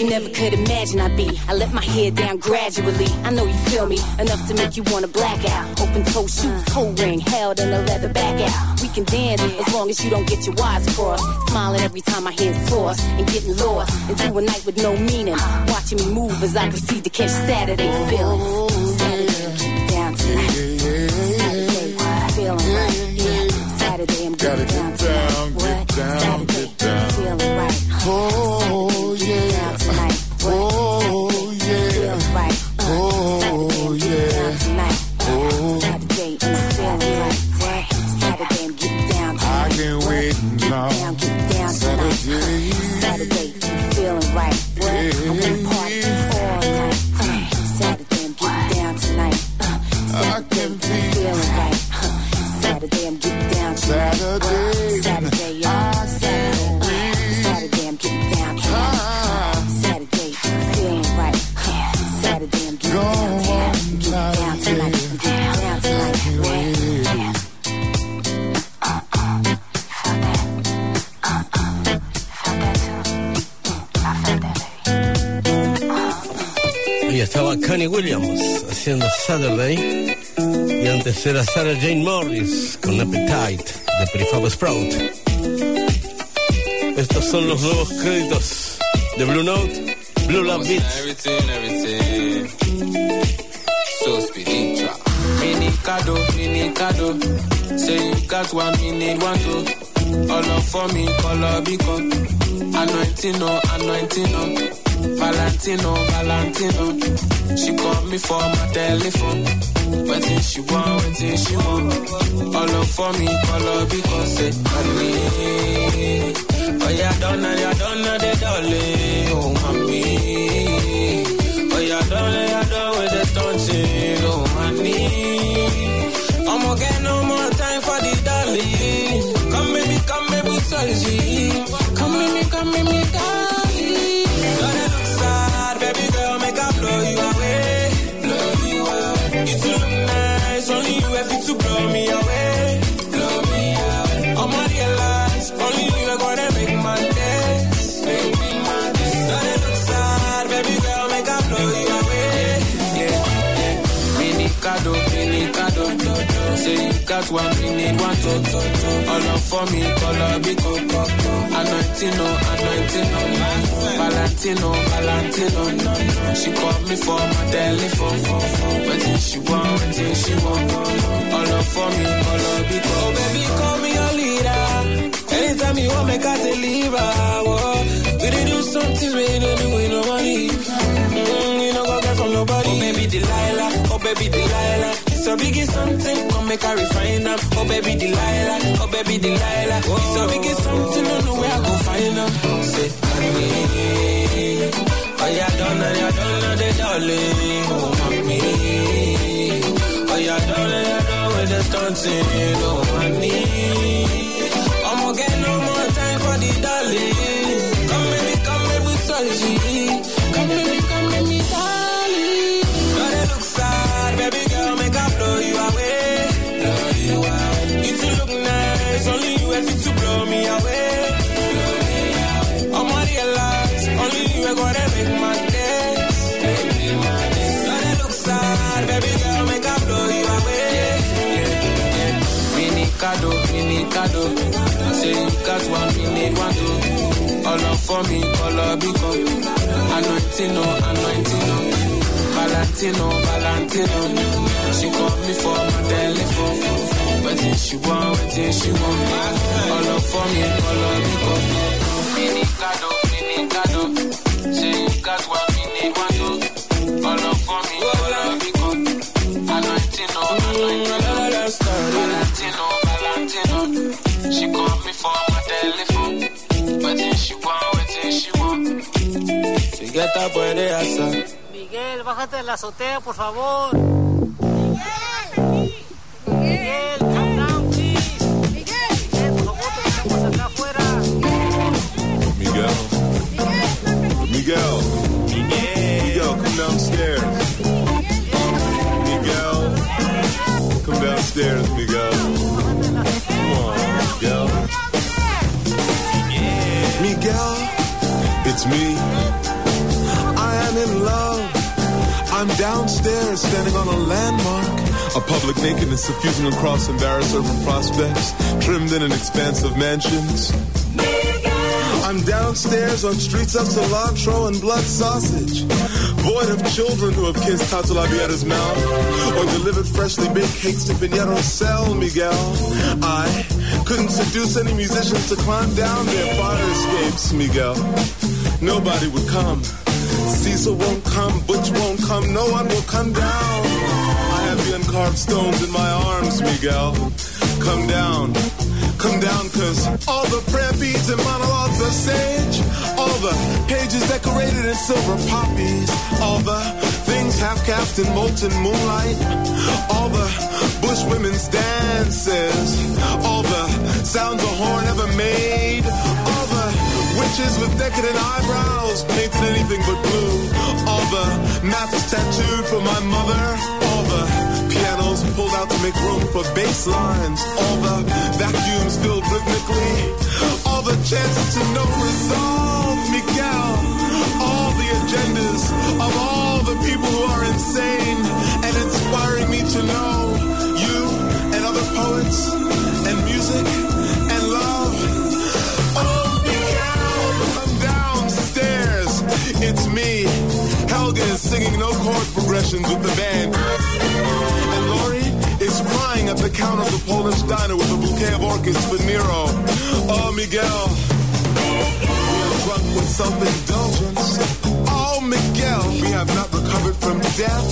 you never could imagine I'd be. I let my hair down gradually. I know you feel me, enough to make you wanna black out. Open toe shoes, toe ring, held in a leather back out. We can dance as long as you don't get your wires crossed. Smiling every time my head's tossed and getting lost into a night with no meaning. Watching me move as I proceed to catch Saturday feelings. Saturday, keep down tonight. Saturday, feeling right. Yeah, Saturday I'm getting down tonight. What? Saturday, feeling right. Oh yeah. Tonight. Oh yeah. Feeling right. Oh yeah. Tonight. Saturday I'm feeling right. Saturday I'm getting down tonight. I can't wait now. Down, get down tonight. Saturday. Saturday I'm feeling right. What? I wanna party all night. Saturday I'm getting down tonight. I can be Feeling right. Saturday I'm getting down tonight. Saturday. Saturday, yeah. Saturday. Saturday I'm getting down tonight. Saturday feeling right. Saturday I'm getting down tonight. I'm getting down tonight. I'm getting down tonight. Yeah. Y estaba Connie Williams haciendo Saturday. Y antes era Sarah Jane Morris con Appetite de Prefab Sprout. Estos son los nuevos créditos de Blue Note, Blue Love Beats. Everything, everything. So speedy drop. Mini cado, mini cado. Say you got one, me need one too. All up for me, color beacon. Anointing, no, anointing, no. Valentino, Valentino. She called me for my telephone. Waiting she want, waiting she want. All up for me, color because say honey. Oh yeah, don't know, yeah, don't know the darling. Oh mommy. Oh yeah, don't know, yeah, don't with the stunting. Oh honey. I'm gonna get no more time for the darling. Come baby, come baby, sorry. Come baby, come baby, darling. Don't look sad, baby girl, make up blow you away. Blow you away. You too look nice, only you have to blow me away. Blow me away. I'm on your lies, only you are gonna make my days. Make me my days. Don't look sad, baby girl, make up blow you away. Yeah, yeah. Mini cado, mini cado. Say you got one, we need one to, to, to. All up for me, color bico. Anointino, anointino. Valentino, Valentino. She called me for my telephone. Waiting she want, waiting she want. All up for me, color bico. Oh baby, call me your leader. Anytime you want, make I deliver. Whoa. We did do something we don't do with no money. Mm, you know go get from nobody. Oh baby Delilah, oh baby Delilah. It's a biggie something, come make her refine them. Oh baby Delilah, oh baby Delilah. Oh. It's a biggie something, don't know where I go find them. Say honey, oh yeah, don't know, yeah, don't know the darling. Oh mommy, oh yeah, don't know, yeah, don't with the stunting. Oh honey, I'm gonna get no more time for the darling. Come baby, come baby, sorry. Come baby, come baby, darling. Don't they look sad, baby girl, make up blow you away. Blow you away. You too look nice, only you have to blow me away. Blow me away. I'm on your lies, only you are gonna make my days. Make me my days. Don't they look sad, baby girl, make up blow you away. Yeah, yeah. Mini cado, mini cado. Say you got one, we need one too. All up for me, color bico. Anointino, anointino. Valentino, Valentino. She called me for my telephone. Waiting she want, waiting she want. All up for me, color bico. Mini cado, mini cado. Say you got one, we need one too. All up for me, color bico. Anointino, anointino. Valentino, Valentino. She called me for my telephone. Waiting she want, waiting she want. She get up when they ask her. Miguel, bájate de la azotea, por favor. Miguel, Miguel, calm down, please. Miguel, Miguel, por favor, te dejamos acá afuera. Miguel. Miguel. Miguel. Miguel, come downstairs. Miguel. Come downstairs, Miguel. Come on, Miguel. Miguel, it's me. man in love. I'm downstairs standing on a landmark, a public nakedness suffusing across embarrassed urban prospects, trimmed in an expanse of mansions. I'm downstairs on streets of cilantro and blood sausage, void of children who have kissed Tato Labietta's mouth, or delivered freshly baked cakes to Pinheiro Cell, Miguel. I couldn't seduce any musicians to climb down their fire escapes, Miguel. Nobody would come. Cecil won't come, Butch won't come, no one will come down. I have the uncarved stones in my arms, Miguel. Come down, come down, cause all the prayer beads and monologues are sage, all the pages decorated in silver poppies, all the things half-cast in molten moonlight, all the bush women's dances, all the sounds a horn ever made, all the witches with decadent eyebrows painted anything but blue, all the maps tattooed for my mother, all the pianos pulled out to make room for bass lines, all the vacuums filled rhythmically, all the chances to know resolve, Miguel, all the agendas of all the people who are insane and inspiring me to know you and other poets and music and love. Oh, Miguel, come downstairs. It's me. Helga is singing no chord progressions with the band. And Lori is crying at the counter of the Polish diner with a bouquet of orchids for Nero. Oh, Miguel. We are drunk with self-indulgence. Oh, Miguel. We have not recovered from death.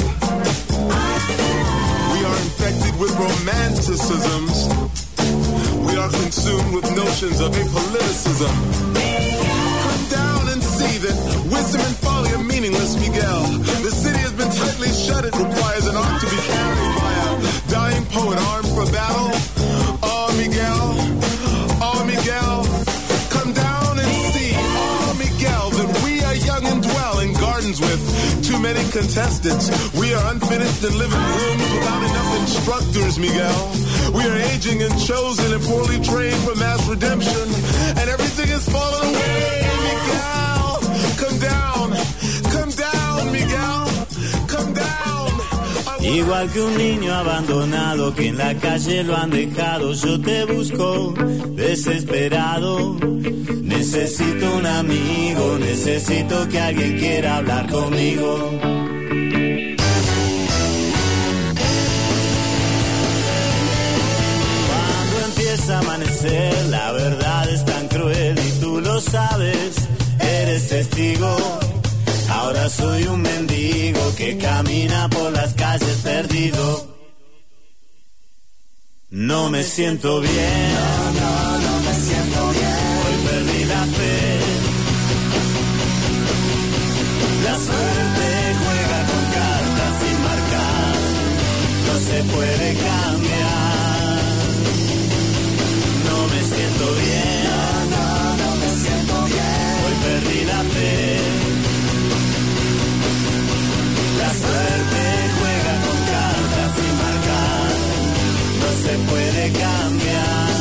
We are infected with romanticisms. We are consumed with notions of apoliticism. Come down and see that wisdom and folly are meaningless, Miguel. The city has been tightly shut. It requires an ark to be carried by a dying poet armed for battle. Oh, Miguel. Oh, Miguel. Come down and see, oh, Miguel, that we are young and dwell in gardens with too many contestants. We are unfinished and live in rooms without enough instructors, Miguel. We are aging and chosen and poorly trained for mass redemption. And everything is falling away, Miguel. Come down, come down, Miguel. Come down. Igual que un niño abandonado que en la calle lo han dejado, yo te busco desesperado. Necesito un amigo, necesito que alguien quiera hablar conmigo. Cuando empieza a amanecer, la verdad es tan cruel y tú lo sabes, eres testigo. Ahora soy un mendigo que camina por las calles perdido. No me siento bien, no, no, no me siento bien. Hoy perdí la fe. La suerte juega con cartas sin marcar. No se puede cambiar. No me siento bien, no, no, no me siento bien. Hoy perdí la fe. La suerte juega con cartas sin marcar, no se puede cambiar.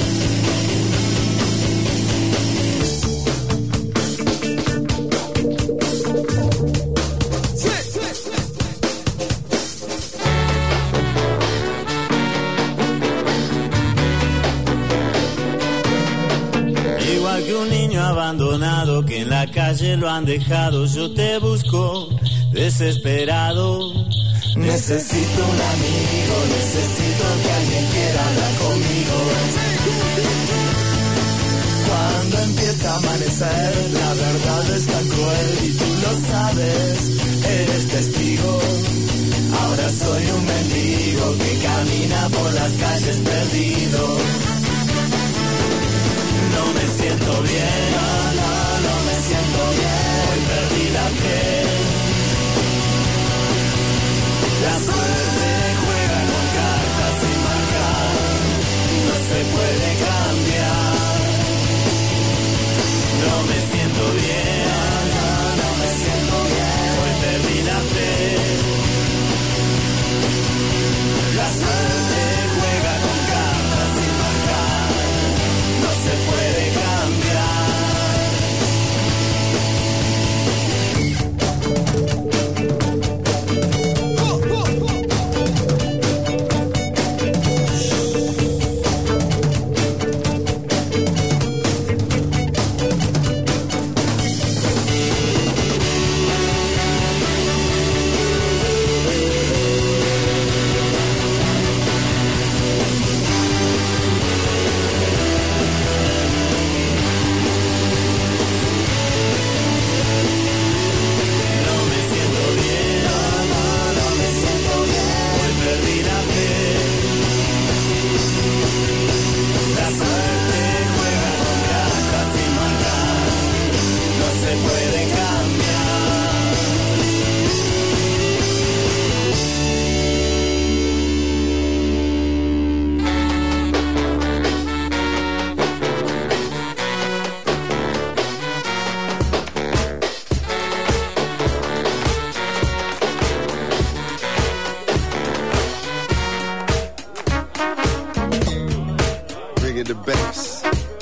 Igual que un niño abandonado que en la calle lo han dejado, yo te busco desesperado. Necesito un amigo, necesito que alguien quiera hablar conmigo. Cuando empieza a amanecer, la verdad es tan cruel y tú lo sabes, eres testigo. Ahora soy un mendigo que camina por las calles perdido. No me siento bien, no, no, no me siento bien. Hoy perdí la fe. La suerte juega con cartas sin marcar, no se puede cambiar. No me siento bien, no, no me siento bien. Hoy puede cambiar. The bass.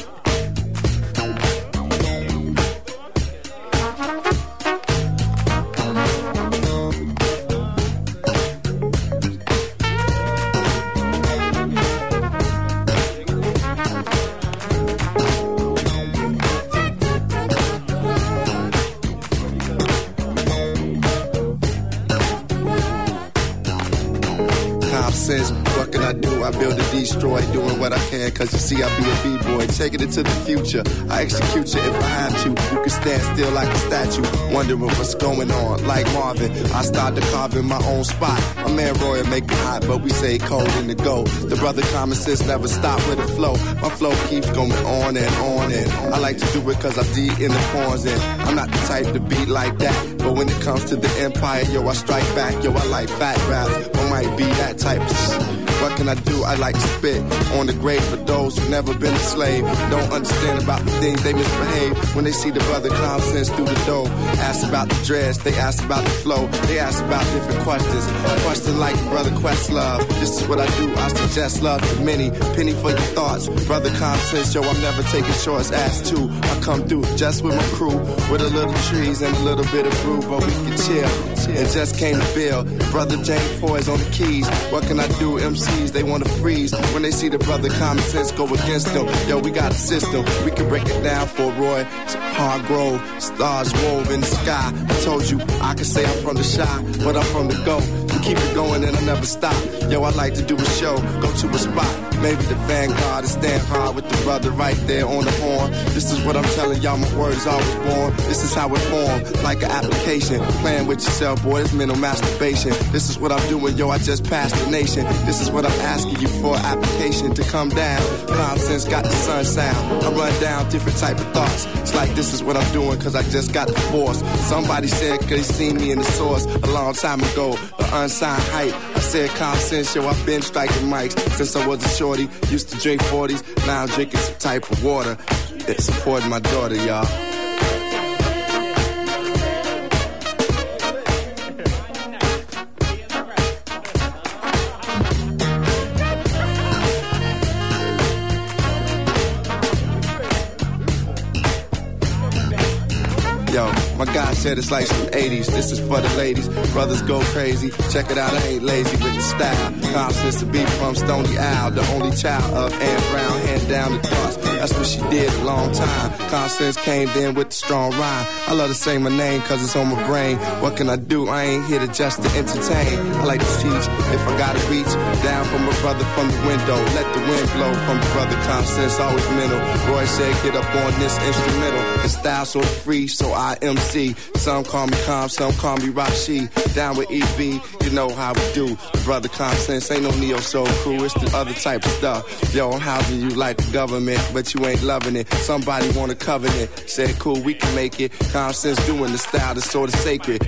What can I do? I build and destroy, doing what I can, cause you see I be a B-boy, taking it to the future. I execute you if I have to. You can stand still like a statue, wondering what's going on. Like Marvin, I started carving my own spot. My man Roy make it hot, but we say cold in the go. The brother common sense never stop with the flow. My flow keeps going on and on and I like to do it cause I'm deep in the corns and I'm not the type to beat like that. But when it comes to the empire, yo, I strike back. Yo, I like fat raps, or might be that type of shit. What can I do? I like to spit on the grave for those who never been a slave. Don't understand about the things they misbehave. When they see the brother common sense through the door. Ask about the dress, they ask about the flow. They ask about different questions. Question like brother Questlove. This is what I do, I suggest love to many. Penny for your thoughts. Brother common sense, yo, I'm never taking shorts. Ass too, I come through just with my crew. With a little trees and a little bit of brew. But we can chill. And just came to Bill. Brother James Foy's on the keys. What can I do? M Cs, they wanna freeze when they see the brother common sense go against them. Yo, we got a system, we can break it down for Roy Hargrove. Stars wove in the sky. I told you, I can say I'm from the shy, but I'm from the go. Keep it going and I never stop. Yo, I like to do a show, go to a spot. Maybe the Vanguard and stand hard with the brother right there on the horn. This is what I'm telling y'all, my word is always born. This is how it formed, like an application. Playing with yourself, boy, it's mental masturbation. This is what I'm doing, yo, I just passed the nation. This is what I'm asking you for, application to come down. Common sense got the sun sound. I run down different type of thoughts. It's like this is what I'm doing, cause I just got the force. Somebody said, cause they seen me in the source a long time ago. The unsigned hype. I said common sense, yo, I've been striking mics since I was a shorty. Used to drink forties, now I'm drinking some type of water. It's supporting my daughter, y'all. Yo, my guy said it's like some eighties. This is for the ladies. Brothers go crazy. Check it out, I ain't lazy with the style. Constance to be from Stony Owl, the only child of Ann Brown, hand down the thoughts. That's what she did a long time. Constance came in with the strong rhyme. I love to say my name cause it's on my brain. What can I do? I ain't here to just to entertain. I like to teach if I gotta reach down from a brother from the window. Let the wind blow from the brother. Constance always mental. Roy said get up on this instrumental. The style so free, so I M C. Some call me Calm, some call me Rashi. Down with E B, you know how we do. The brother Constance ain't no neo soul crew. It's the other type of stuff. Yo, I'm housing you like the government, but you ain't loving it. Somebody want a covenant. Said cool, we can make it. Constance doing the style that's sort of sacred.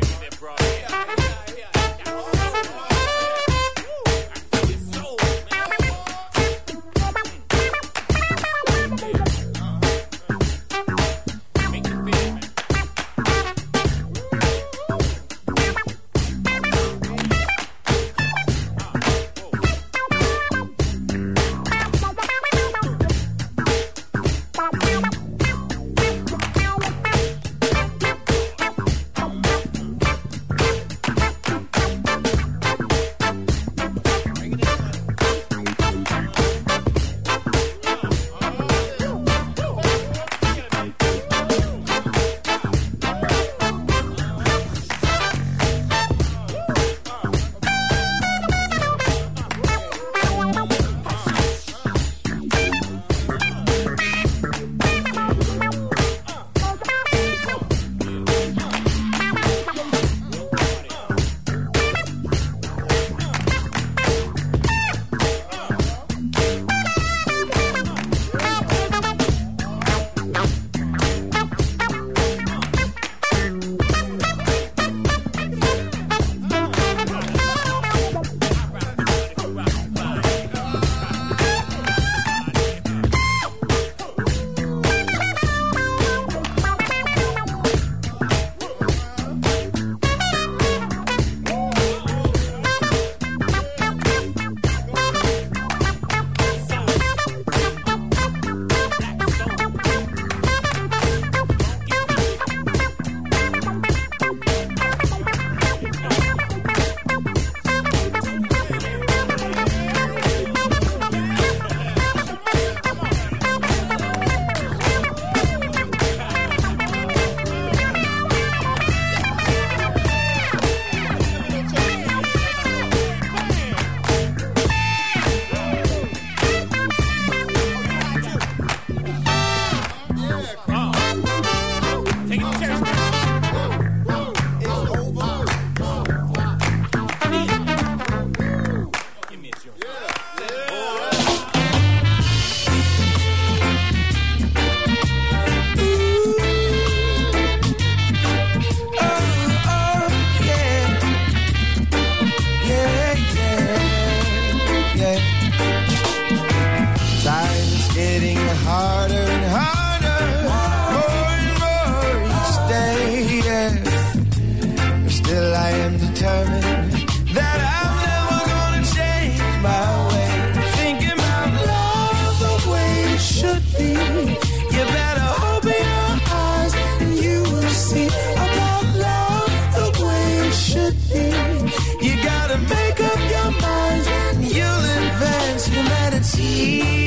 yeah. Still I am determined that I'm never gonna change my way. Thinking about love the way it should be. You better open your eyes and you will see about love the way it should be. You gotta make up your mind and you'll advance humanity.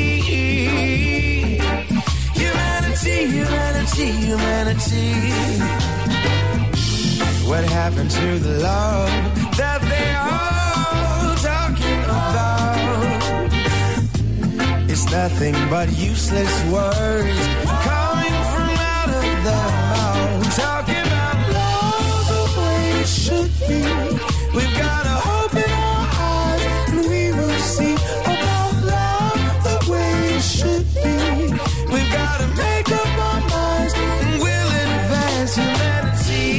Humanity, humanity, humanity. What happened to the love that they all talking about? It's nothing but useless words coming from out of their mouth. Talking about love the way it should be. We've gotta open our eyes and we will see about love the way it should be. We've gotta make up our minds and we'll advance humanity.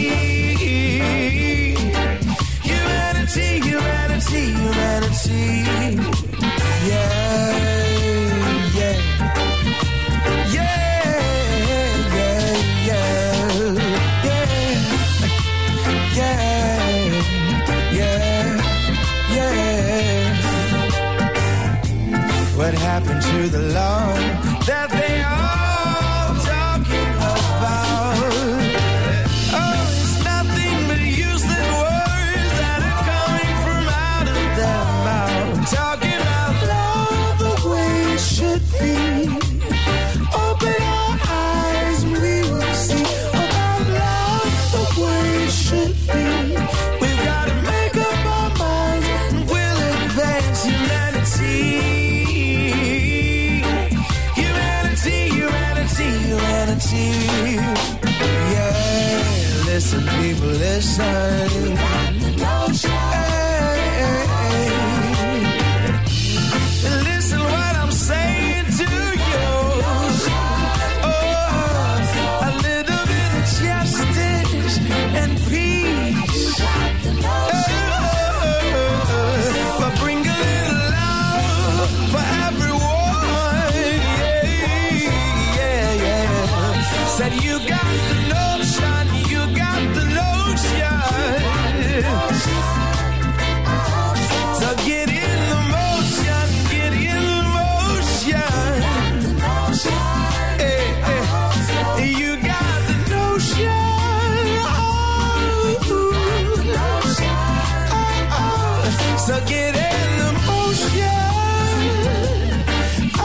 Humanity, humanity, humanity. Yeah, yeah. Yeah, yeah, yeah. Yeah, yeah, yeah, yeah. What happened to the love that they all talking about? Oh, it's nothing but useless words that are coming from out of their mouth. Talking about love the way it should be. Open our eyes and we will see about love the way it should be. We've got to make up our minds and we'll advance humanity. Humanity, humanity, humanity. Yeah, listen, people, listen. Hey, hey, hey. Listen what I'm saying to you. Oh, a little bit of justice and peace. Oh, but bring a little love for everyone. Yeah, yeah, yeah. Said you got the notion, you got the notion. So get in the motion, get in the motion. Hey, hey. You got the notion. Oh, oh, oh. So get in the motion. Oh,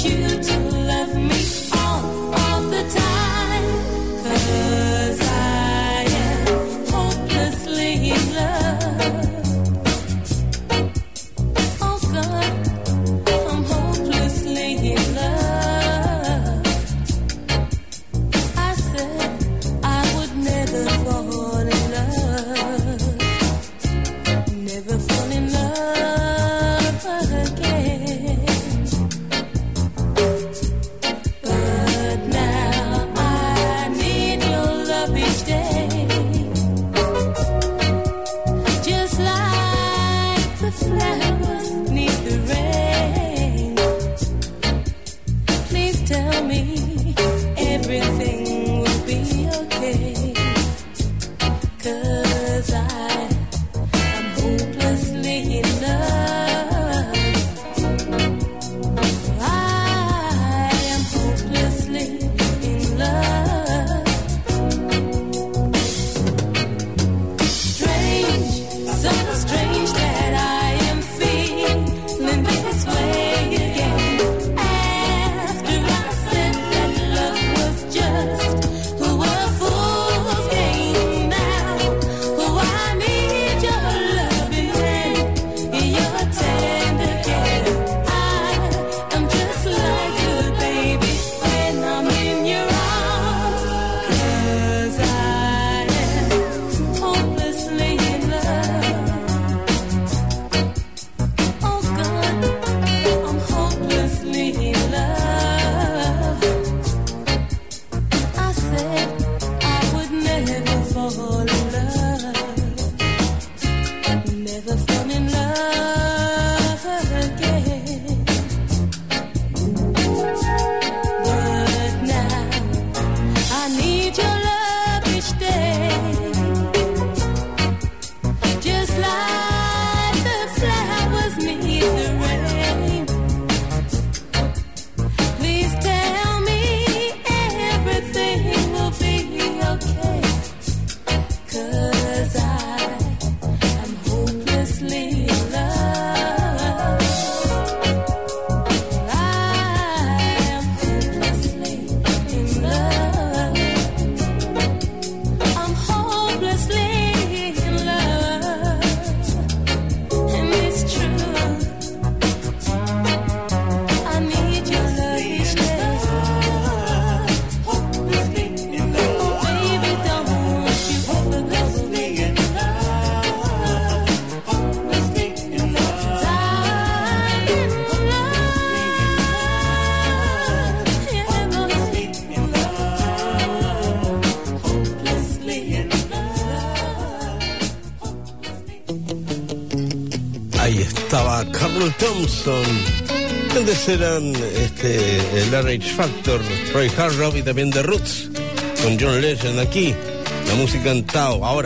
estaba Carl Thompson. Antes eran este, el R H Factor, Roy Hargrove y también The Roots, con John Legend aquí. La música en Tao. Ahora,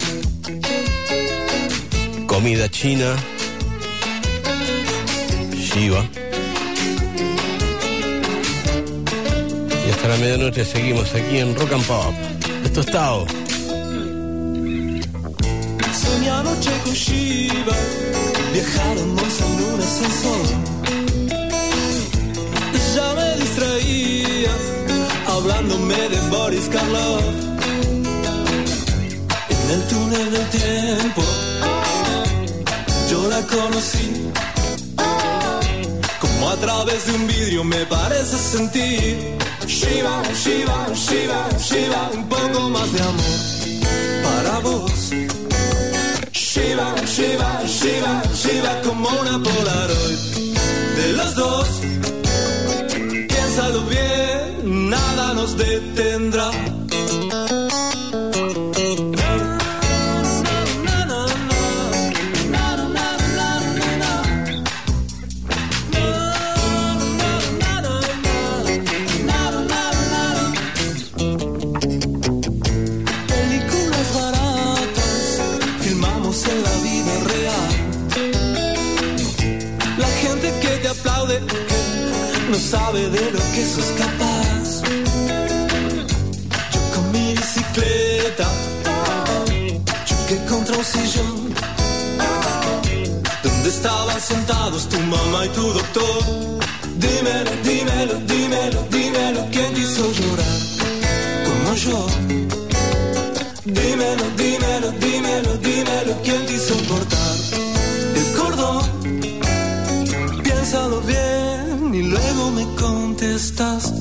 comida china, Shiva. Y hasta la medianoche seguimos aquí en Rock and Pop. Esto es Tao. Soñé anoche con Shiva, viajábamos en un ascensor. Ya me distraía, hablándome de Boris Karloff. En el túnel del tiempo, yo la conocí. Como a través de un vidrio me parece sentir. Shiva, Shiva, Shiva, Shiva, un poco más de amor para vos. Shiva, Shiva, Shiva, Shiva, como una Polaroid de los dos. Piénsalo bien, nada nos detendrá. No sabe de lo que sos capaz. Yo con mi bicicleta choqué contra un sillón donde estaban sentados tu mamá y tu doctor. Dímelo, dímelo. bien y luego me contestas.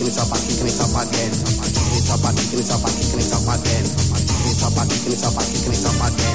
kicking it up, kicking it up again. Kicking it up, kicking it up, kicking it up again. Kicking it up, kicking it up, kicking it up again.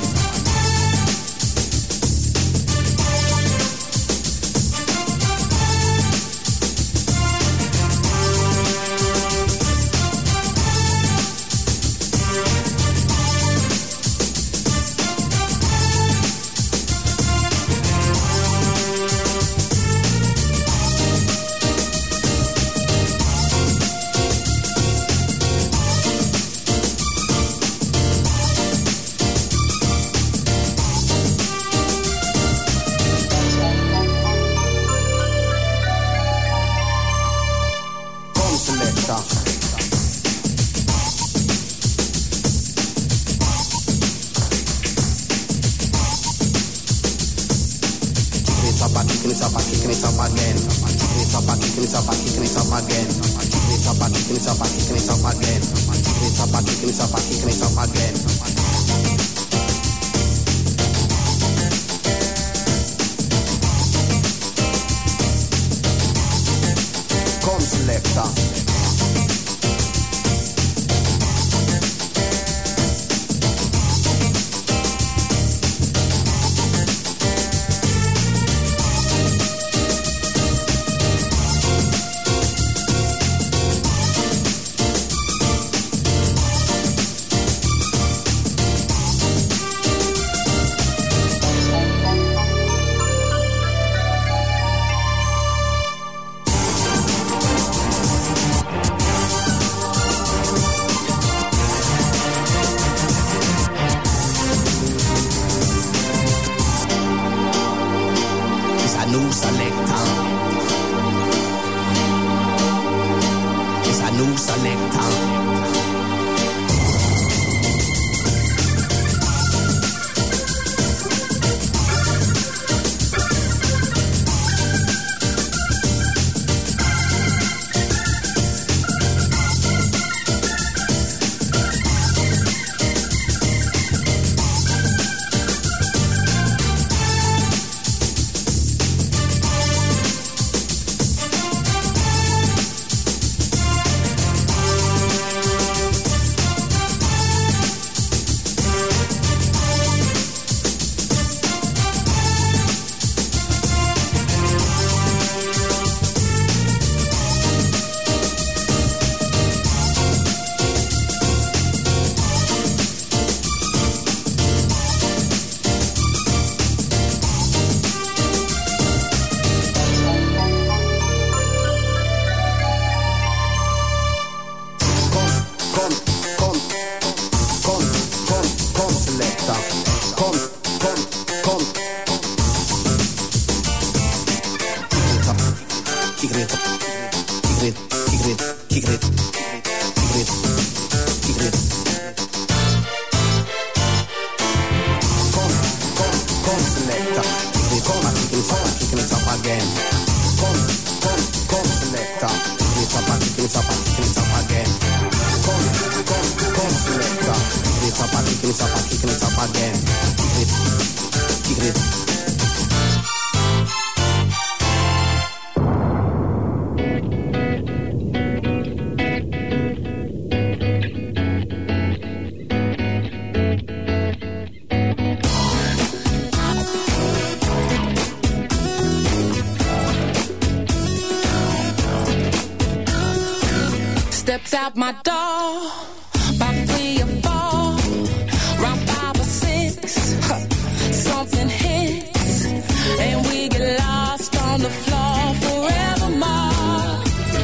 Stepped out my door, about three or four, round five or six, huh, something hits, and we get lost on the floor forevermore.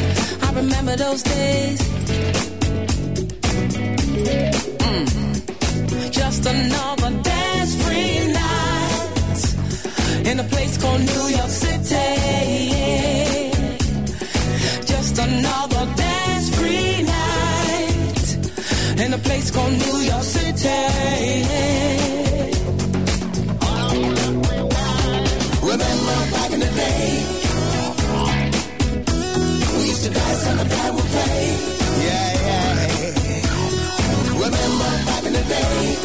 I remember those days. Mm. Just another dance-free night in a place called New York City. Just another dance-free night in a place called New York City. Remember back in the day, we used to dance on the band would play. Yeah, yeah. Remember back in the day,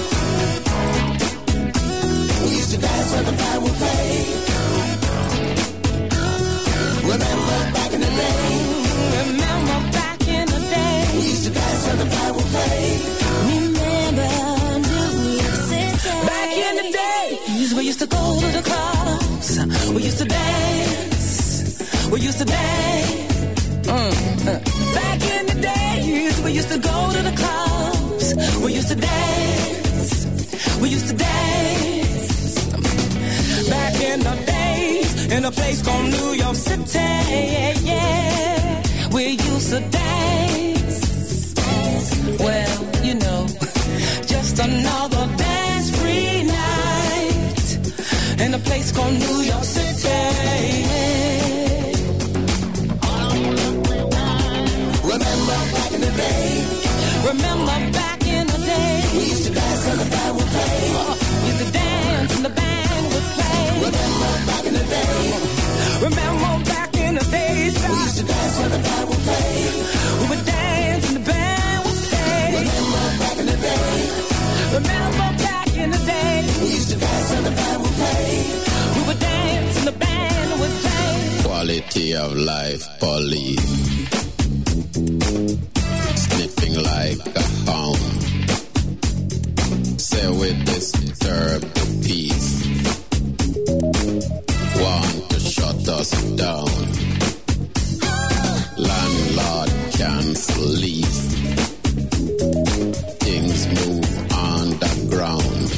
we used to dance on the band would play. Remember back in the day. Remember back used to dance. We used to dance. Mm. Back in the days, we used to go to the clubs. We used to dance. We used to dance. Back in the days, in a place called New York City. Yeah, we used to dance. Well, you know, just another dance-free night in a place called New York City. Remember back in the day. Remember back in the day. We used to dance and the band would play. Uh, we used to dance and the band would play. Remember back in the day. Remember back in the days. We used to dance and the band would play. We would dance and the band would play. Remember back in the day. Remember back in the day. We used to dance and the band would play. We would dance and the band would play. Quality of life, police. Sniffing like a hound. Say we disturb the peace. Want to shut us down. Landlord cancel lease. Things move underground.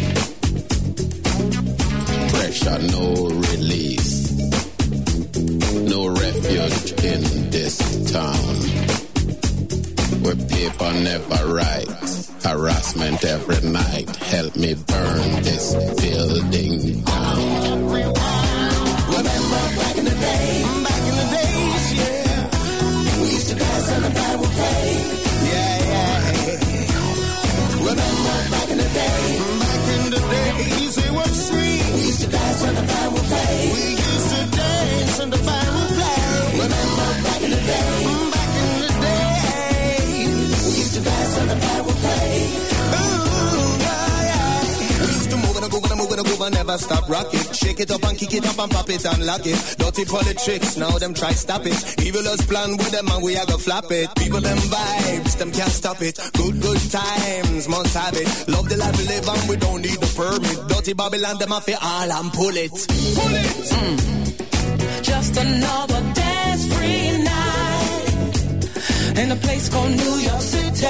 Pressure no release. No refuge in this town. Where paper never writes. Harassment every night. Help me burn this building down. Remember back in the day. Back in the days, yeah. We used to dance and the band would play. Yeah, yeah. Remember back in the day. Back in the days, it was free. We used to dance and the band would play. We used to dance and the band would play. Remember back in the day. Back in the days, we used to dance and the band would play. Ooh, yeah, yeah. We used to move and go and move and go and never stop rock it. Shake it up and kick it up and pop it and lock it. Dirty politics, now them try stop it. Evil us plan with them and we a go flap it. People them vibes, them can't stop it. Good, good times, must have it. Love the life we live and we don't need the permit. Dirty Babylon, them a fi all and pull it. Pull it! Mm. Just another dance-free night in a place called New York City.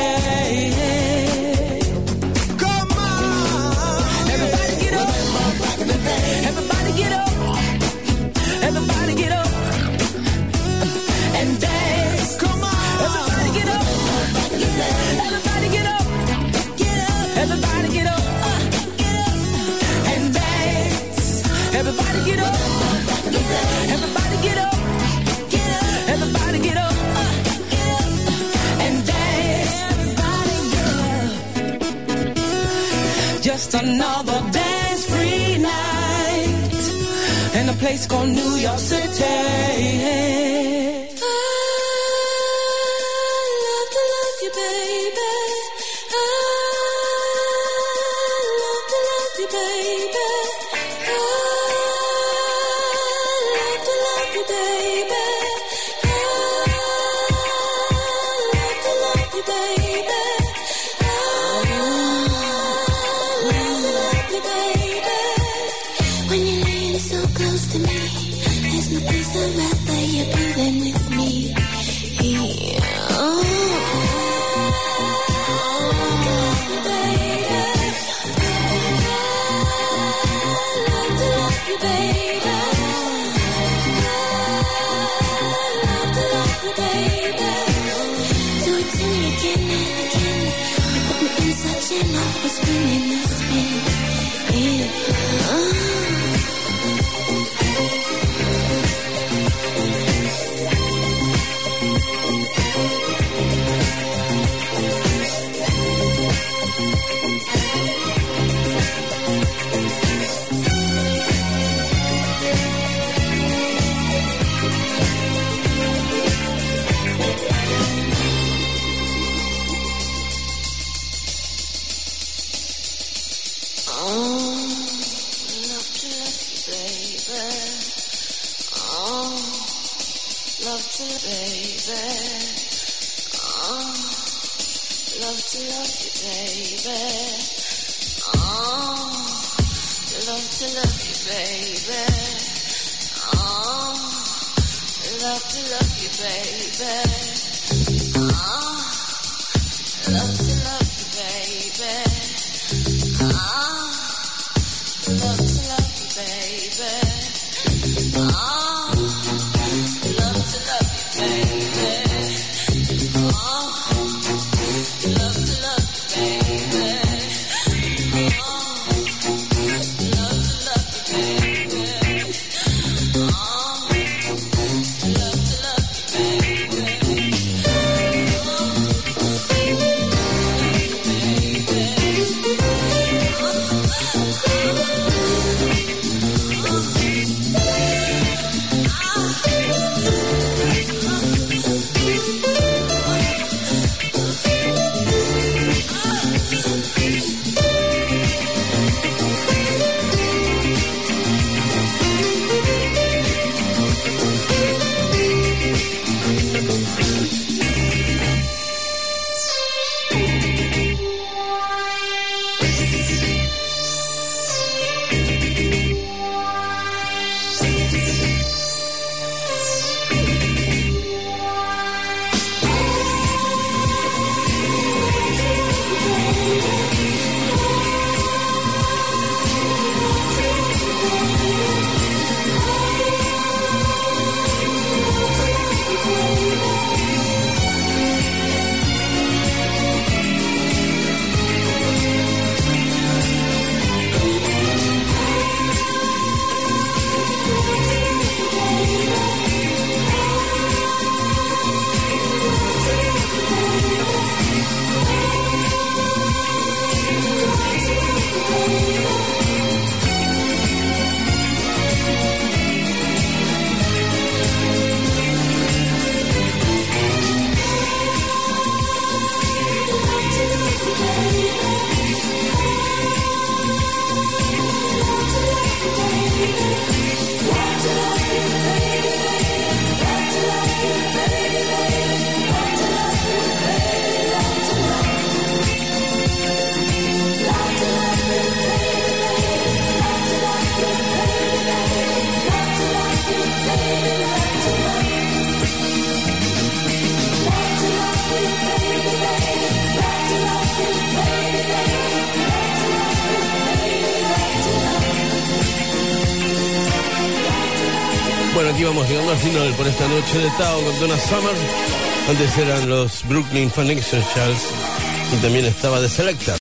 Come on! Everybody get up! Remember back in the day. Everybody get up! Everybody get up! And dance! Come on! Everybody get up! Back in the day. Everybody get up! Get up! Everybody get up! Get up! And dance! Everybody get up! Back in the day. Everybody get up! Get up! Everybody get up! Get up! And dance! Everybody get up! Just another dance-free night in a place called New York City. When you're laying so close to me, there's no place I'd rather you be than with me. Yeah. Oh, baby. I love to love you, baby. I love to love you, baby. Do it to me again and again. You put me in such an awful spin in the spin. Yeah. Oh. love to love you, baby. Oh, love to love you, baby. Ah, love to love you, baby. Ah, love to love you, baby. Ah, love to love you, baby. Ah, love to love you, baby. Bueno, aquí vamos llegando al final por esta noche de Tao con Donna Summer. Antes eran los Brooklyn Phonexionals y también estaba The Selector.